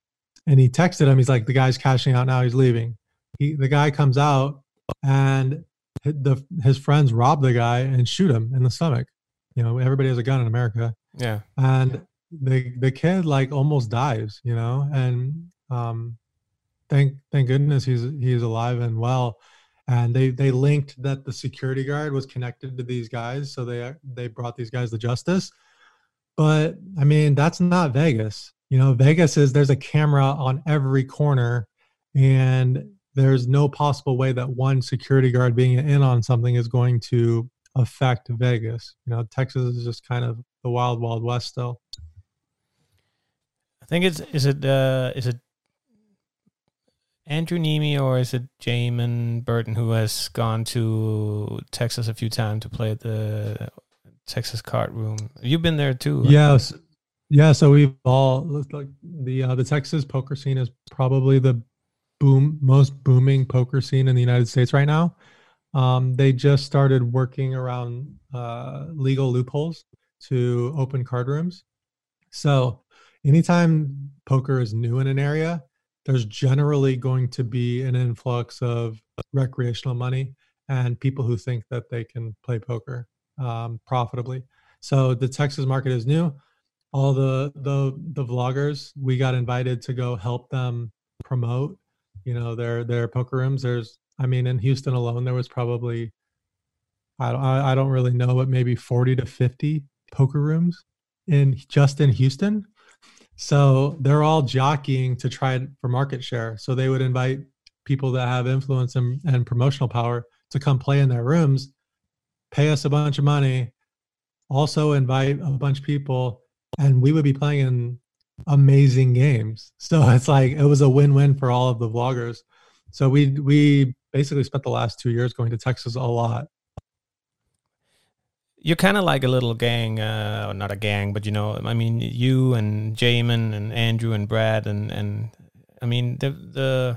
and he texted him. He's like, the guy's cashing out now. He's leaving. The guy comes out, and his friends rob the guy and shoot him in the stomach. You know, everybody has a gun in America. Yeah. And the kid like almost dies, you know, and thank goodness he's alive and well. And they linked that the security guard was connected to these guys, so they brought these guys to justice. But I mean, that's not Vegas. You know, Vegas is, there's a camera on every corner, and there's no possible way that one security guard being in on something is going to affect Vegas. You know, Texas is just kind of the wild, wild west still. I think is it Andrew Neeme or is it Jamin Burton who has gone to Texas a few times to play at the Texas Card Room? You've been there too. Yes. Yeah, so we've all, like, the Texas poker scene is probably the most booming poker scene in the United States right now. They just started working around legal loopholes to open card rooms. So anytime poker is new in an area, there's generally going to be an influx of recreational money and people who think that they can play poker profitably. So the Texas market is new. All the vloggers, we got invited to go help them promote, you know, their poker rooms. I mean, in Houston alone, there was probably, I don't really know, but maybe 40 to 50 poker rooms just in Houston. So they're all jockeying to try for market share. So they would invite people that have influence and promotional power to come play in their rooms, pay us a bunch of money, also invite a bunch of people, and we would be playing in amazing games. So it's like, it was a win-win for all of the vloggers. So we basically spent the last 2 years going to Texas a lot. You're kind of like a little gang, not a gang, but, you know, I mean, you and Jamin and Andrew and Brad and I mean, the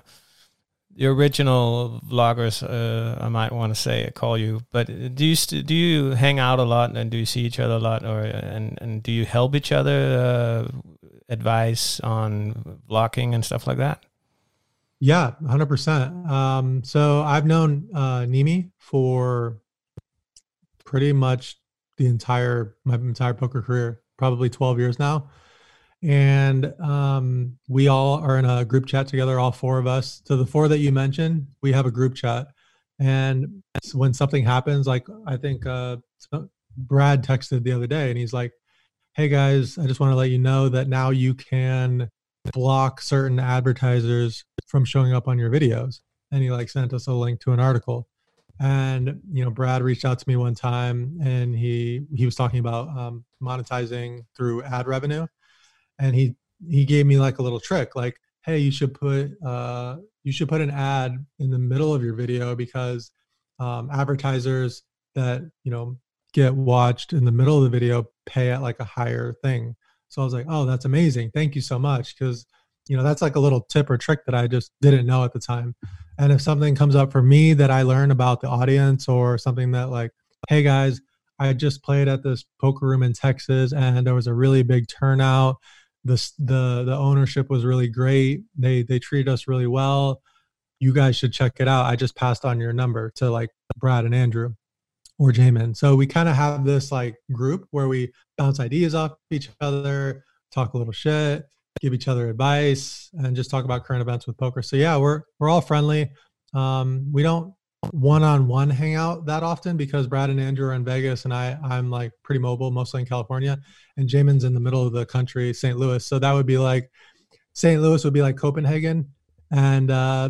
original vloggers, I might want to say, call you, but do you hang out a lot, and do you see each other a lot, or and do you help each other, advice on vlogging and stuff like that? Yeah, 100%. So I've known Neeme for pretty much my entire poker career, probably 12 years now. And we all are in a group chat together, all four of us. So the four that you mentioned, we have a group chat. And when something happens, like I think Brad texted the other day, and he's like, hey guys, I just want to let you know that now you can block certain advertisers from showing up on your videos. And he like sent us a link to an article. And, you know, Brad reached out to me one time, and he was talking about monetizing through ad revenue. And he gave me like a little trick, like, hey, you should put an ad in the middle of your video, because advertisers that, you know, get watched in the middle of the video pay at like a higher thing. So I was like, oh, that's amazing. Thank you so much. Because, you know, that's like a little tip or trick that I just didn't know at the time. And if something comes up for me that I learn about the audience, or something that like, hey guys, I just played at this poker room in Texas and there was a really big turnout. The ownership was really great. They treated us really well. You guys should check it out. I just passed on your number to like Brad and Andrew or Jamin. So we kind of have this like group where we bounce ideas off each other, talk a little shit, give each other advice, and just talk about current events with poker. So yeah, we're all friendly. We don't one-on-one hang out that often because Brad and Andrew are in Vegas, and I'm like pretty mobile, mostly in California, and Jamin's in the middle of the country, St. Louis. So that would be like, St. Louis would be like Copenhagen, and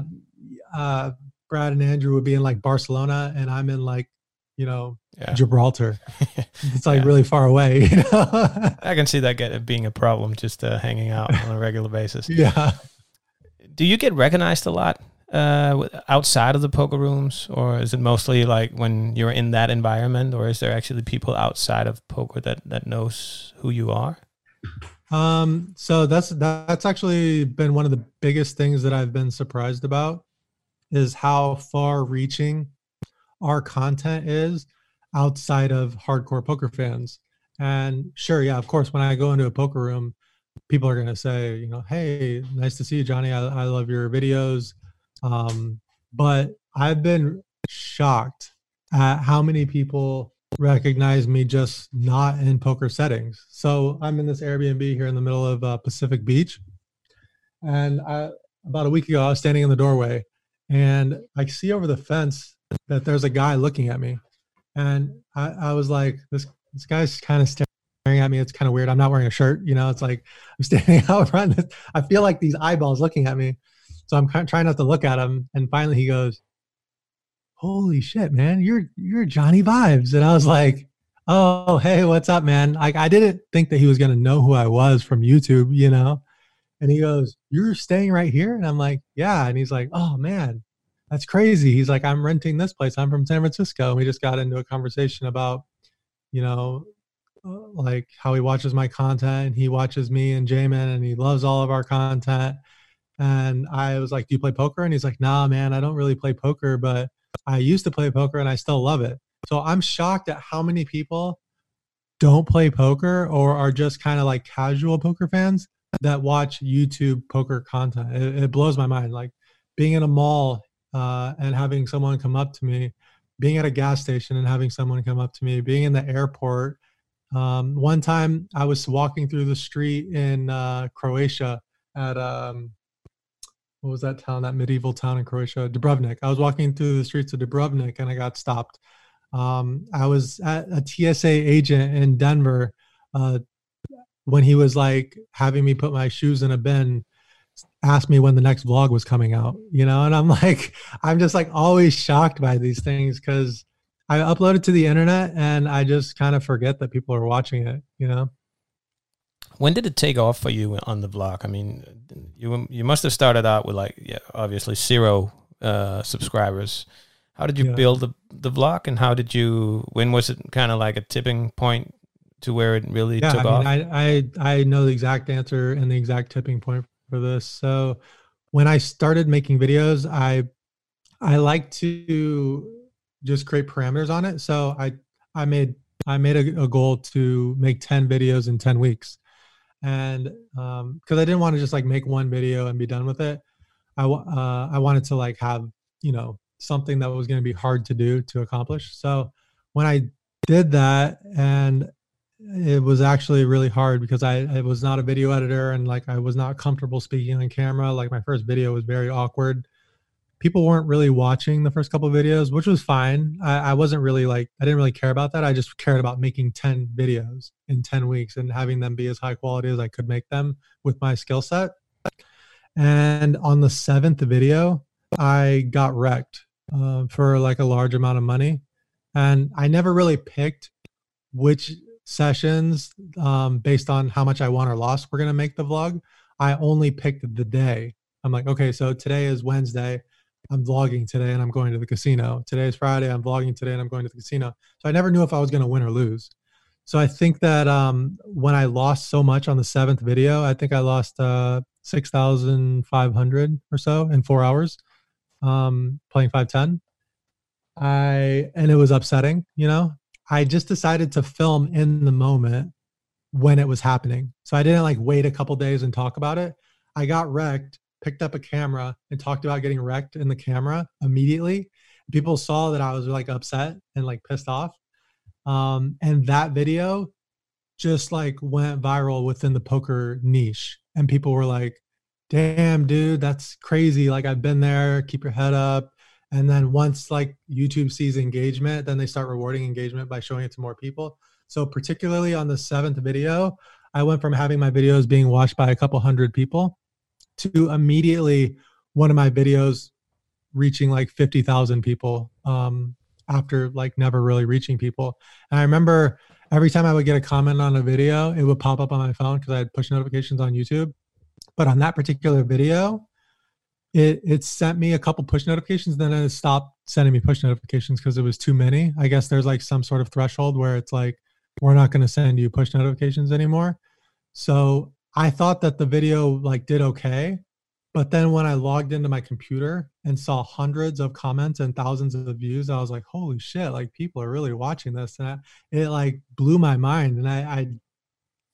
Brad and Andrew would be in like Barcelona, and I'm in like, you know, Gibraltar. It's like really far away. You know? I can see that being a problem, just hanging out on a regular basis. Yeah. Do you get recognized a lot outside of the poker rooms, or is it mostly like when you're in that environment, or is there actually people outside of poker that knows who you are? So that's actually been one of the biggest things that I've been surprised about, is how far reaching our content is outside of hardcore poker fans. And sure, yeah, of course, when I go into a poker room, people are going to say, you know, hey, nice to see you, Johnny. I love your videos. But I've been shocked at how many people recognize me just not in poker settings. So I'm in this Airbnb here in the middle of Pacific Beach. And about a week ago, I was standing in the doorway and I see over the fence that there's a guy looking at me. And I was like, this guy's kind of staring at me. It's kind of weird. I'm not wearing a shirt. You know, it's like I'm standing out front. I feel like these eyeballs looking at me. So I'm kind of trying not to look at him. And finally he goes, holy shit, man, you're Johnny Vibes. And I was like, oh, hey, what's up, man? Like, I didn't think that he was going to know who I was from YouTube, you know? And he goes, you're staying right here? And I'm like, yeah. And he's like, oh man, that's crazy. He's like, I'm renting this place. I'm from San Francisco. And we just got into a conversation about, you know, like how he watches my content. He watches me and Jamin and he loves all of our content. And I was like, do you play poker? And he's like, nah, man, I don't really play poker, but I used to play poker and I still love it. So I'm shocked at how many people don't play poker or are just kind of like casual poker fans that watch YouTube poker content. It blows my mind. Like being in a mall and having someone come up to me, being at a gas station and having someone come up to me, being in the airport. One time I was walking through the street in Croatia at what was that town, that medieval town in Croatia? Dubrovnik. I was walking through the streets of Dubrovnik and I got stopped. I was at a TSA agent in Denver when he was like having me put my shoes in a bin, asked me when the next vlog was coming out, you know? And I'm like, I'm just like always shocked by these things because I upload it to the internet and I just kind of forget that people are watching it, you know? When did it take off for you on the vlog? I mean, you must have started out with like, yeah, obviously 0 subscribers. How did you build the vlog, and when was it kind of like a tipping point to where it really took off? I know the exact answer and the exact tipping point for this. So when I started making videos, I like to just create parameters on it. So I made a goal to make 10 videos in 10 weeks. And because I didn't want to just like make one video and be done with it. I wanted to like have, you know, something that was going to be hard to do to accomplish. So when I did that, and it was actually really hard because I was not a video editor and like I was not comfortable speaking on camera. Like my first video was very awkward. People weren't really watching the first couple of videos, which was fine. I wasn't really like, I didn't really care about that. I just cared about making 10 videos in 10 weeks and having them be as high quality as I could make them with my skill set. And on the 7th video, I got wrecked for like a large amount of money. And I never really picked which sessions based on how much I won or lost were going to make the vlog. I only picked the day. I'm like, okay, so today is Wednesday. I'm vlogging today and I'm going to the casino. Today is Friday. I'm vlogging today and I'm going to the casino. So I never knew if I was going to win or lose. So I think that when I lost so much on the 7th video, I think I lost 6,500 or so in 4 hours playing 510. And it was upsetting, you know. I just decided to film in the moment when it was happening. So I didn't like wait a couple days and talk about it. I got wrecked, picked up a camera and talked about getting wrecked in the camera immediately. People saw that I was like upset and like pissed off. And that video just like went viral within the poker niche. And people were like, damn, dude, that's crazy. Like I've been there, keep your head up. And then once like YouTube sees engagement, then they start rewarding engagement by showing it to more people. So particularly on the 7th video, I went from having my videos being watched by a couple hundred people to immediately one of my videos reaching like 50,000 people after like never really reaching people. And I remember every time I would get a comment on a video, it would pop up on my phone because I had push notifications on YouTube. But on that particular video, it sent me a couple push notifications, then it stopped sending me push notifications because it was too many. I guess there's like some sort of threshold where it's like, we're not going to send you push notifications anymore. So I thought that the video like did okay. But then when I logged into my computer and saw hundreds of comments and thousands of views, I was like, holy shit, like people are really watching this. And it like blew my mind. And I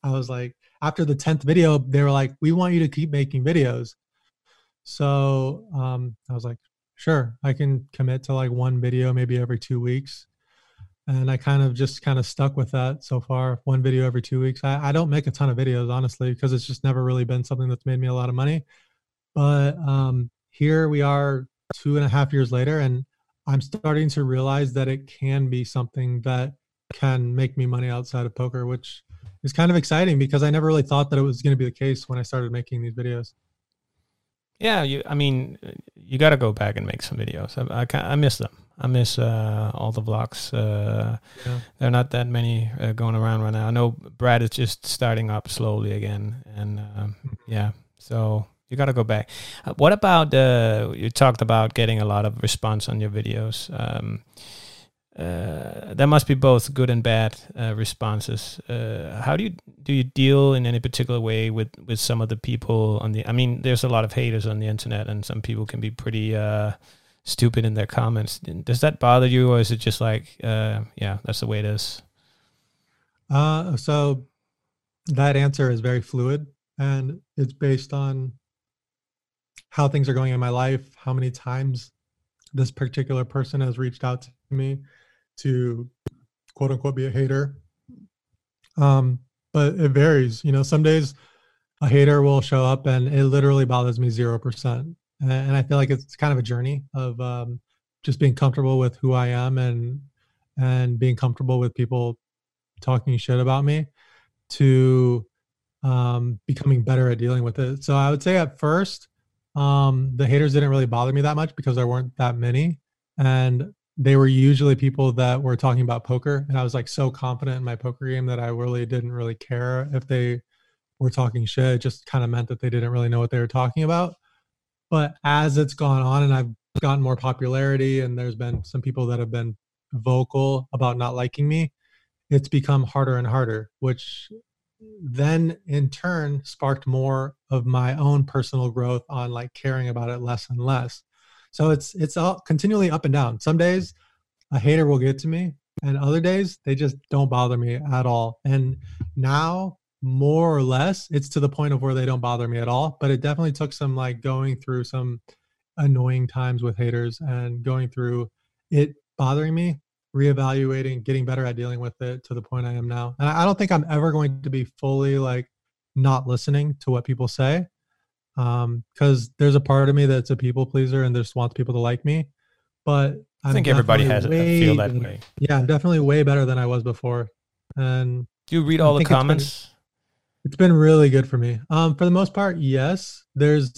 I was like, after the 10th video, they were like, we want you to keep making videos. So I was like, sure, I can commit to like one video maybe every 2 weeks. And I kind of stuck with that so far. One video every 2 weeks. I don't make a ton of videos, honestly, because it's just never really been something that's made me a lot of money. But here we are 2.5 years later, and I'm starting to realize that it can be something that can make me money outside of poker, which is kind of exciting because I never really thought that it was going to be the case when I started making these videos. Yeah, I mean, you got to go back and make some videos. I miss them. I miss all the vlogs. Yeah. There are not that many going around right now. I know Brad is just starting up slowly again, and yeah, so you got to go back. What about you talked about getting a lot of response on your videos? There must be both good and bad responses. How do you deal in any particular way with some of the people on the? I mean, there's a lot of haters on the internet, and some people can be pretty stupid in their comments. Does that bother you, or is it just like, yeah, that's the way it is? So that answer is very fluid, and it's based on how things are going in my life, how many times this particular person has reached out to me to quote unquote be a hater. But it varies. Some days a hater will show up and it literally bothers me 0%. And I feel like it's kind of a journey of just being comfortable with who I am and being comfortable with people talking shit about me to becoming better at dealing with it. So I would say at first, the haters didn't really bother me that much because there weren't that many. And they were usually people that were talking about poker. And I was like so confident in my poker game that I really didn't really care if they were talking shit. It just kind of meant that they didn't really know what they were talking about. But as it's gone on and I've gotten more popularity and there's been some people that have been vocal about not liking me, it's become harder and harder, which then in turn sparked more of my own personal growth on like caring about it less and less. So it's all continually up and down. Some days a hater will get to me, and other days they just don't bother me at all. And now more or less it's to the point of where they don't bother me at all. But it definitely took some like going through some annoying times with haters and going through it bothering me, reevaluating, getting better at dealing with it to the point I am now. And I don't think I'm ever going to be fully like not listening to what people say, because there's a part of me that's a people pleaser and just wants people to like me. But I think everybody has a feel that way. Yeah, I'm definitely way better than I was before. And do you read all the comments? It's been really good for me. For the most part, yes. There's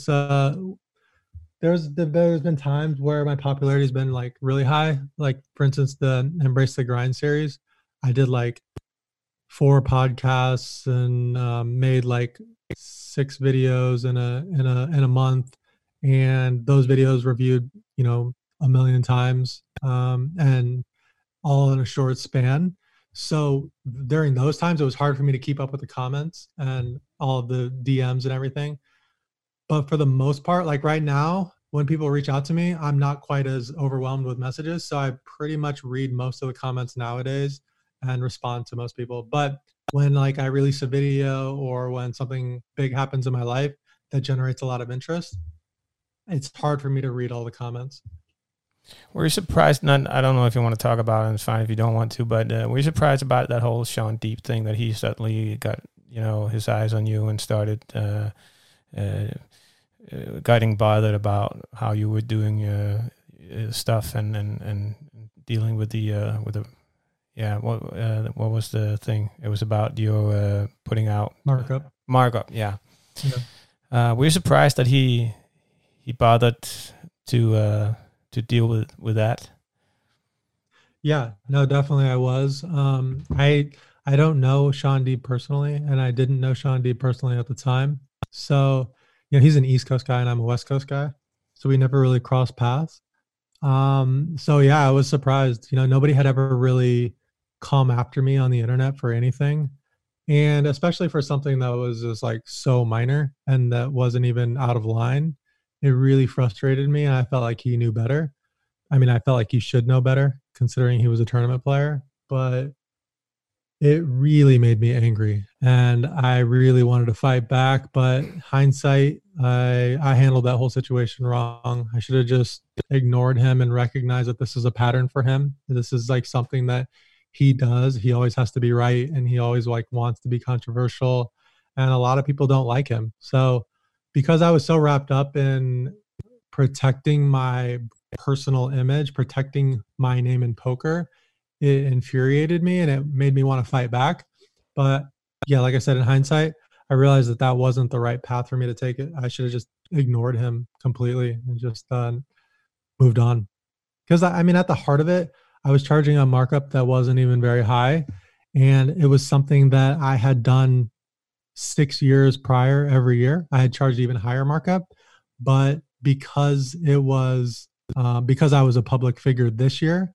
been times where my popularity has been like really high. Like for instance, the Embrace the Grind series. I did like 4 podcasts and made like 6 videos in a month, and those videos reviewed 1 million times, and all in a short span. So during those times, it was hard for me to keep up with the comments and all of the DMs and everything. But for the most part, like right now, when people reach out to me, I'm not quite as overwhelmed with messages. So I pretty much read most of the comments nowadays and respond to most people. But when like I release a video or when something big happens in my life that generates a lot of interest, it's hard for me to read all the comments. Were you surprised? I don't know if you want to talk about it, and it's fine if you don't want to, but were you surprised about that whole Sean Deep thing, that he suddenly got, his eyes on you and started getting bothered about how you were doing stuff and dealing with the what was the thing? It was about your putting out markup. Yeah. Were you surprised that he bothered to deal with that? Yeah, no, definitely I was. I don't know Sean Deeb personally, and I didn't know Sean Deeb personally at the time. So, he's an East Coast guy and I'm a West Coast guy. So we never really crossed paths. So yeah, I was surprised. Nobody had ever really come after me on the internet for anything. And especially for something that was just like so minor and that wasn't even out of line. It really frustrated me. And I felt like he knew better. I mean, I felt like he should know better considering he was a tournament player. But it really made me angry, and I really wanted to fight back. But hindsight, I handled that whole situation wrong. I should have just ignored him and recognized that this is a pattern for him. This is like something that he does. He always has to be right, and he always like wants to be controversial, and a lot of people don't like him. So because I was so wrapped up in protecting my personal image, protecting my name in poker, it infuriated me and it made me want to fight back. But yeah, like I said, in hindsight, I realized that that wasn't the right path for me to take it. I should have just ignored him completely and just moved on. Because I mean, at the heart of it, I was charging a markup that wasn't even very high. And it was something that I had done 6 years prior every year. I had charged even higher markup. But because I was a public figure this year,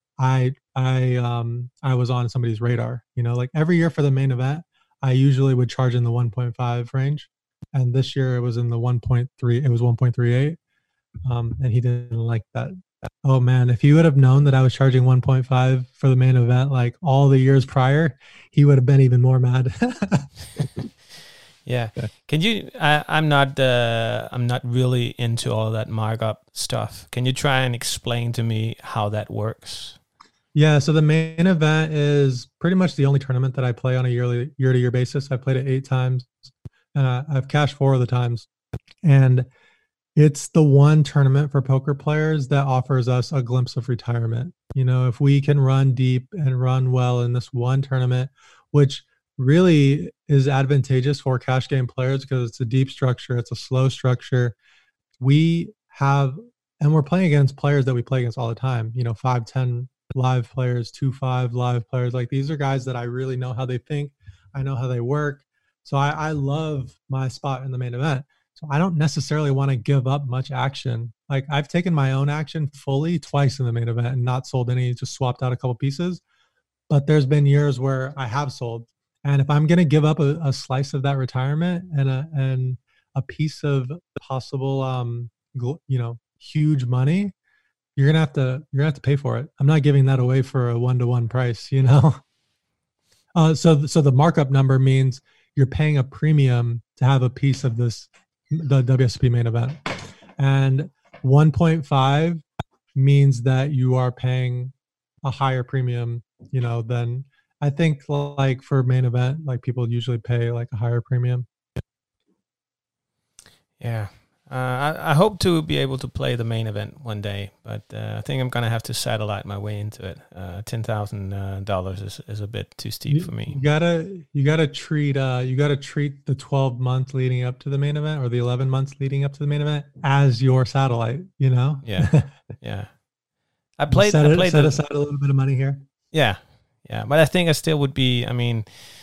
I was on somebody's radar. You know, like every year for the main event, I usually would charge in the 1.5 range, and this year it was in the 1.3. It was 1.38, and he didn't like that. Oh man, if he would have known that I was charging 1.5 for the main event, like all the years prior, he would have been even more mad. Yeah. Can you? I'm not. I'm not really into all that markup stuff. Can you try and explain to me how that works? Yeah, so the main event is pretty much the only tournament that I play on a year-to-year basis. I played it 8 times, and I've cashed 4 of the times. And it's the one tournament for poker players that offers us a glimpse of retirement. You know, if we can run deep and run well in this one tournament, which really is advantageous for cash game players because it's a deep structure, it's a slow structure. We have, and we're playing against players that we play against all the time, you know, 5-10 live players, 2-5 live players. Like these are guys that I really know how they think. I know how they work. So I love my spot in the main event. So I don't necessarily want to give up much action. Like I've taken my own action fully twice in the main event and not sold any, just swapped out a couple pieces. But there's been years where I have sold. And if I'm going to give up a slice of that retirement and a piece of possible, you know, huge money, you're gonna have to pay for it. I'm not giving that away for a 1-to-1 price, you know. So the markup number means you're paying a premium to have a piece of the WSOP main event, and 1.5 means that you are paying a higher premium, you know, than I think like for main event, like people usually pay like a higher premium. Yeah. I hope to be able to play the main event one day, but I think I'm gonna have to satellite my way into it. $10,000 is a bit too steep for me. You gotta treat the 12 months leading up to the main event or the 11 months leading up to the main event as your satellite. You know. Yeah, yeah. I played set aside a little bit of money here. Yeah, yeah, but I think I still would be. I mean,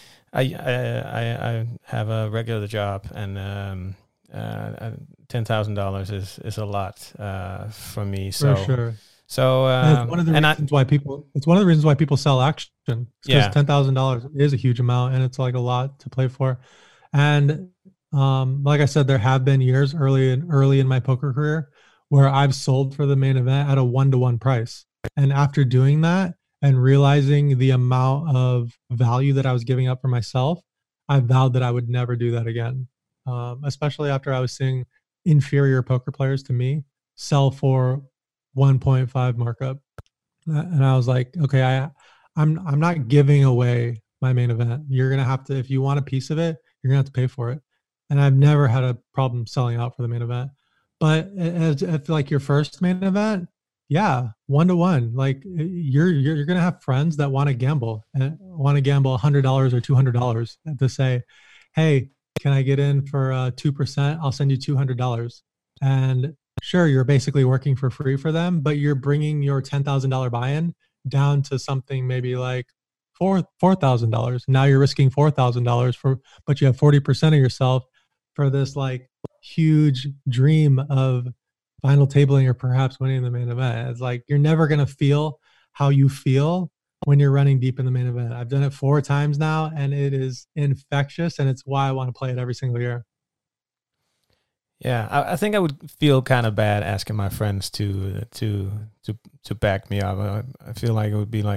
I have a regular job and. $10,000 is a lot for me. So, for sure. So it's one of the reasons why people sell action. Because $10,000 is a huge amount, and it's like a lot to play for. And like I said, there have been years early in my poker career where I've sold for the main event at a 1-to-1 price. And after doing that and realizing the amount of value that I was giving up for myself, I vowed that I would never do that again. Especially after I was seeing inferior poker players to me sell for 1.5 markup, and I was like, okay, I'm not giving away my main event. You're gonna have to, if you want a piece of it, you're gonna have to pay for it. And I've never had a problem selling out for the main event. But if like your first main event, yeah, 1-to-1, like you're gonna have friends that want to gamble and want to gamble $100 or $200 to say, hey, can I get in for 2%? I'll send you $200. And sure, you're basically working for free for them, but you're bringing your $10,000 buy-in down to something maybe like $4,000. Now you're risking $4,000 but you have 40% of yourself for this like huge dream of final tabling or perhaps winning the main event. It's like you're never gonna feel how you feel when you're running deep in the main event. I've done it 4 times now, and it is infectious, and it's why I want to play it every single year. Yeah, I think I would feel kind of bad asking my friends to back me up. I feel like it would be like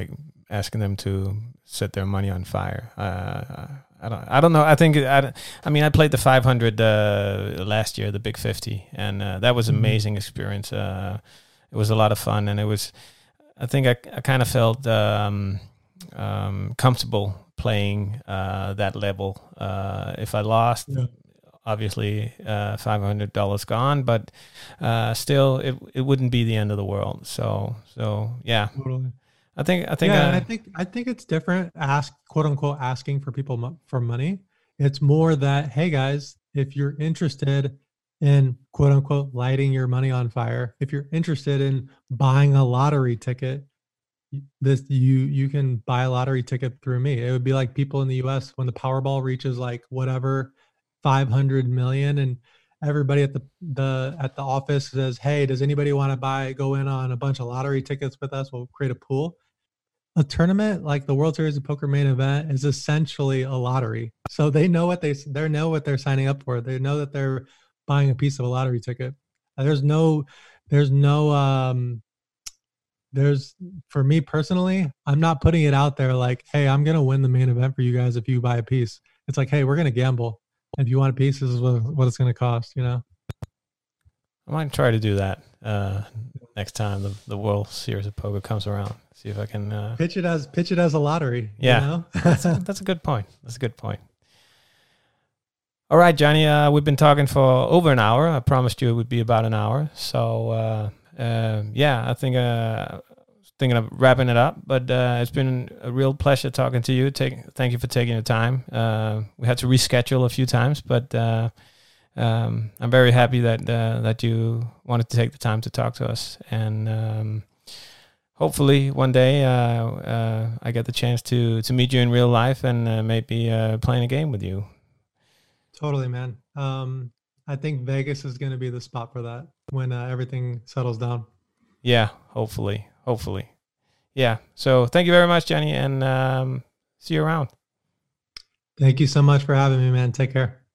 asking them to set their money on fire. I don't know. I think I mean, I played the 500 last year, the Big 50, and that was an amazing experience. It was a lot of fun, and it was. I think I kind of felt comfortable playing that level. If I lost, obviously $500 gone, but still, it wouldn't be the end of the world. So yeah. Totally. I think I think it's different. Quote unquote asking for people for money. It's more that, hey guys, if you're interested in quote unquote lighting your money on fire, if you're interested in buying a lottery ticket, you can buy a lottery ticket through me. It would be like people in the US when the Powerball reaches like whatever 500 million, and everybody at the office says, hey, does anybody want to go in on a bunch of lottery tickets with us? We'll create a pool. A tournament like the World Series of Poker main event is essentially a lottery. So they know what they know what they're signing up for. They know that they're buying a piece of a lottery ticket. There's for me personally, I'm not putting it out there like, hey, I'm going to win the main event for you guys if you buy a piece. It's like, hey, we're going to gamble. If you want a piece, this is what it's going to cost, you know? I might try to do that next time the World Series of Poker comes around. See if I can pitch it as a lottery. Yeah, you know? that's a good point. That's a good point. All right, Johnny, we've been talking for over an hour. I promised you it would be about an hour. So yeah, I think thinking of wrapping it up. But it's been a real pleasure talking to you. Thank you for taking the time. We had to reschedule a few times, but I'm very happy that you wanted to take the time to talk to us, and hopefully one day I get the chance to meet you in real life and maybe playing a game with you. Totally, man. I think Vegas is going to be the spot for that when everything settles down. Yeah, hopefully. Yeah. So thank you very much, Johnny, and see you around. Thank you so much for having me, man. Take care.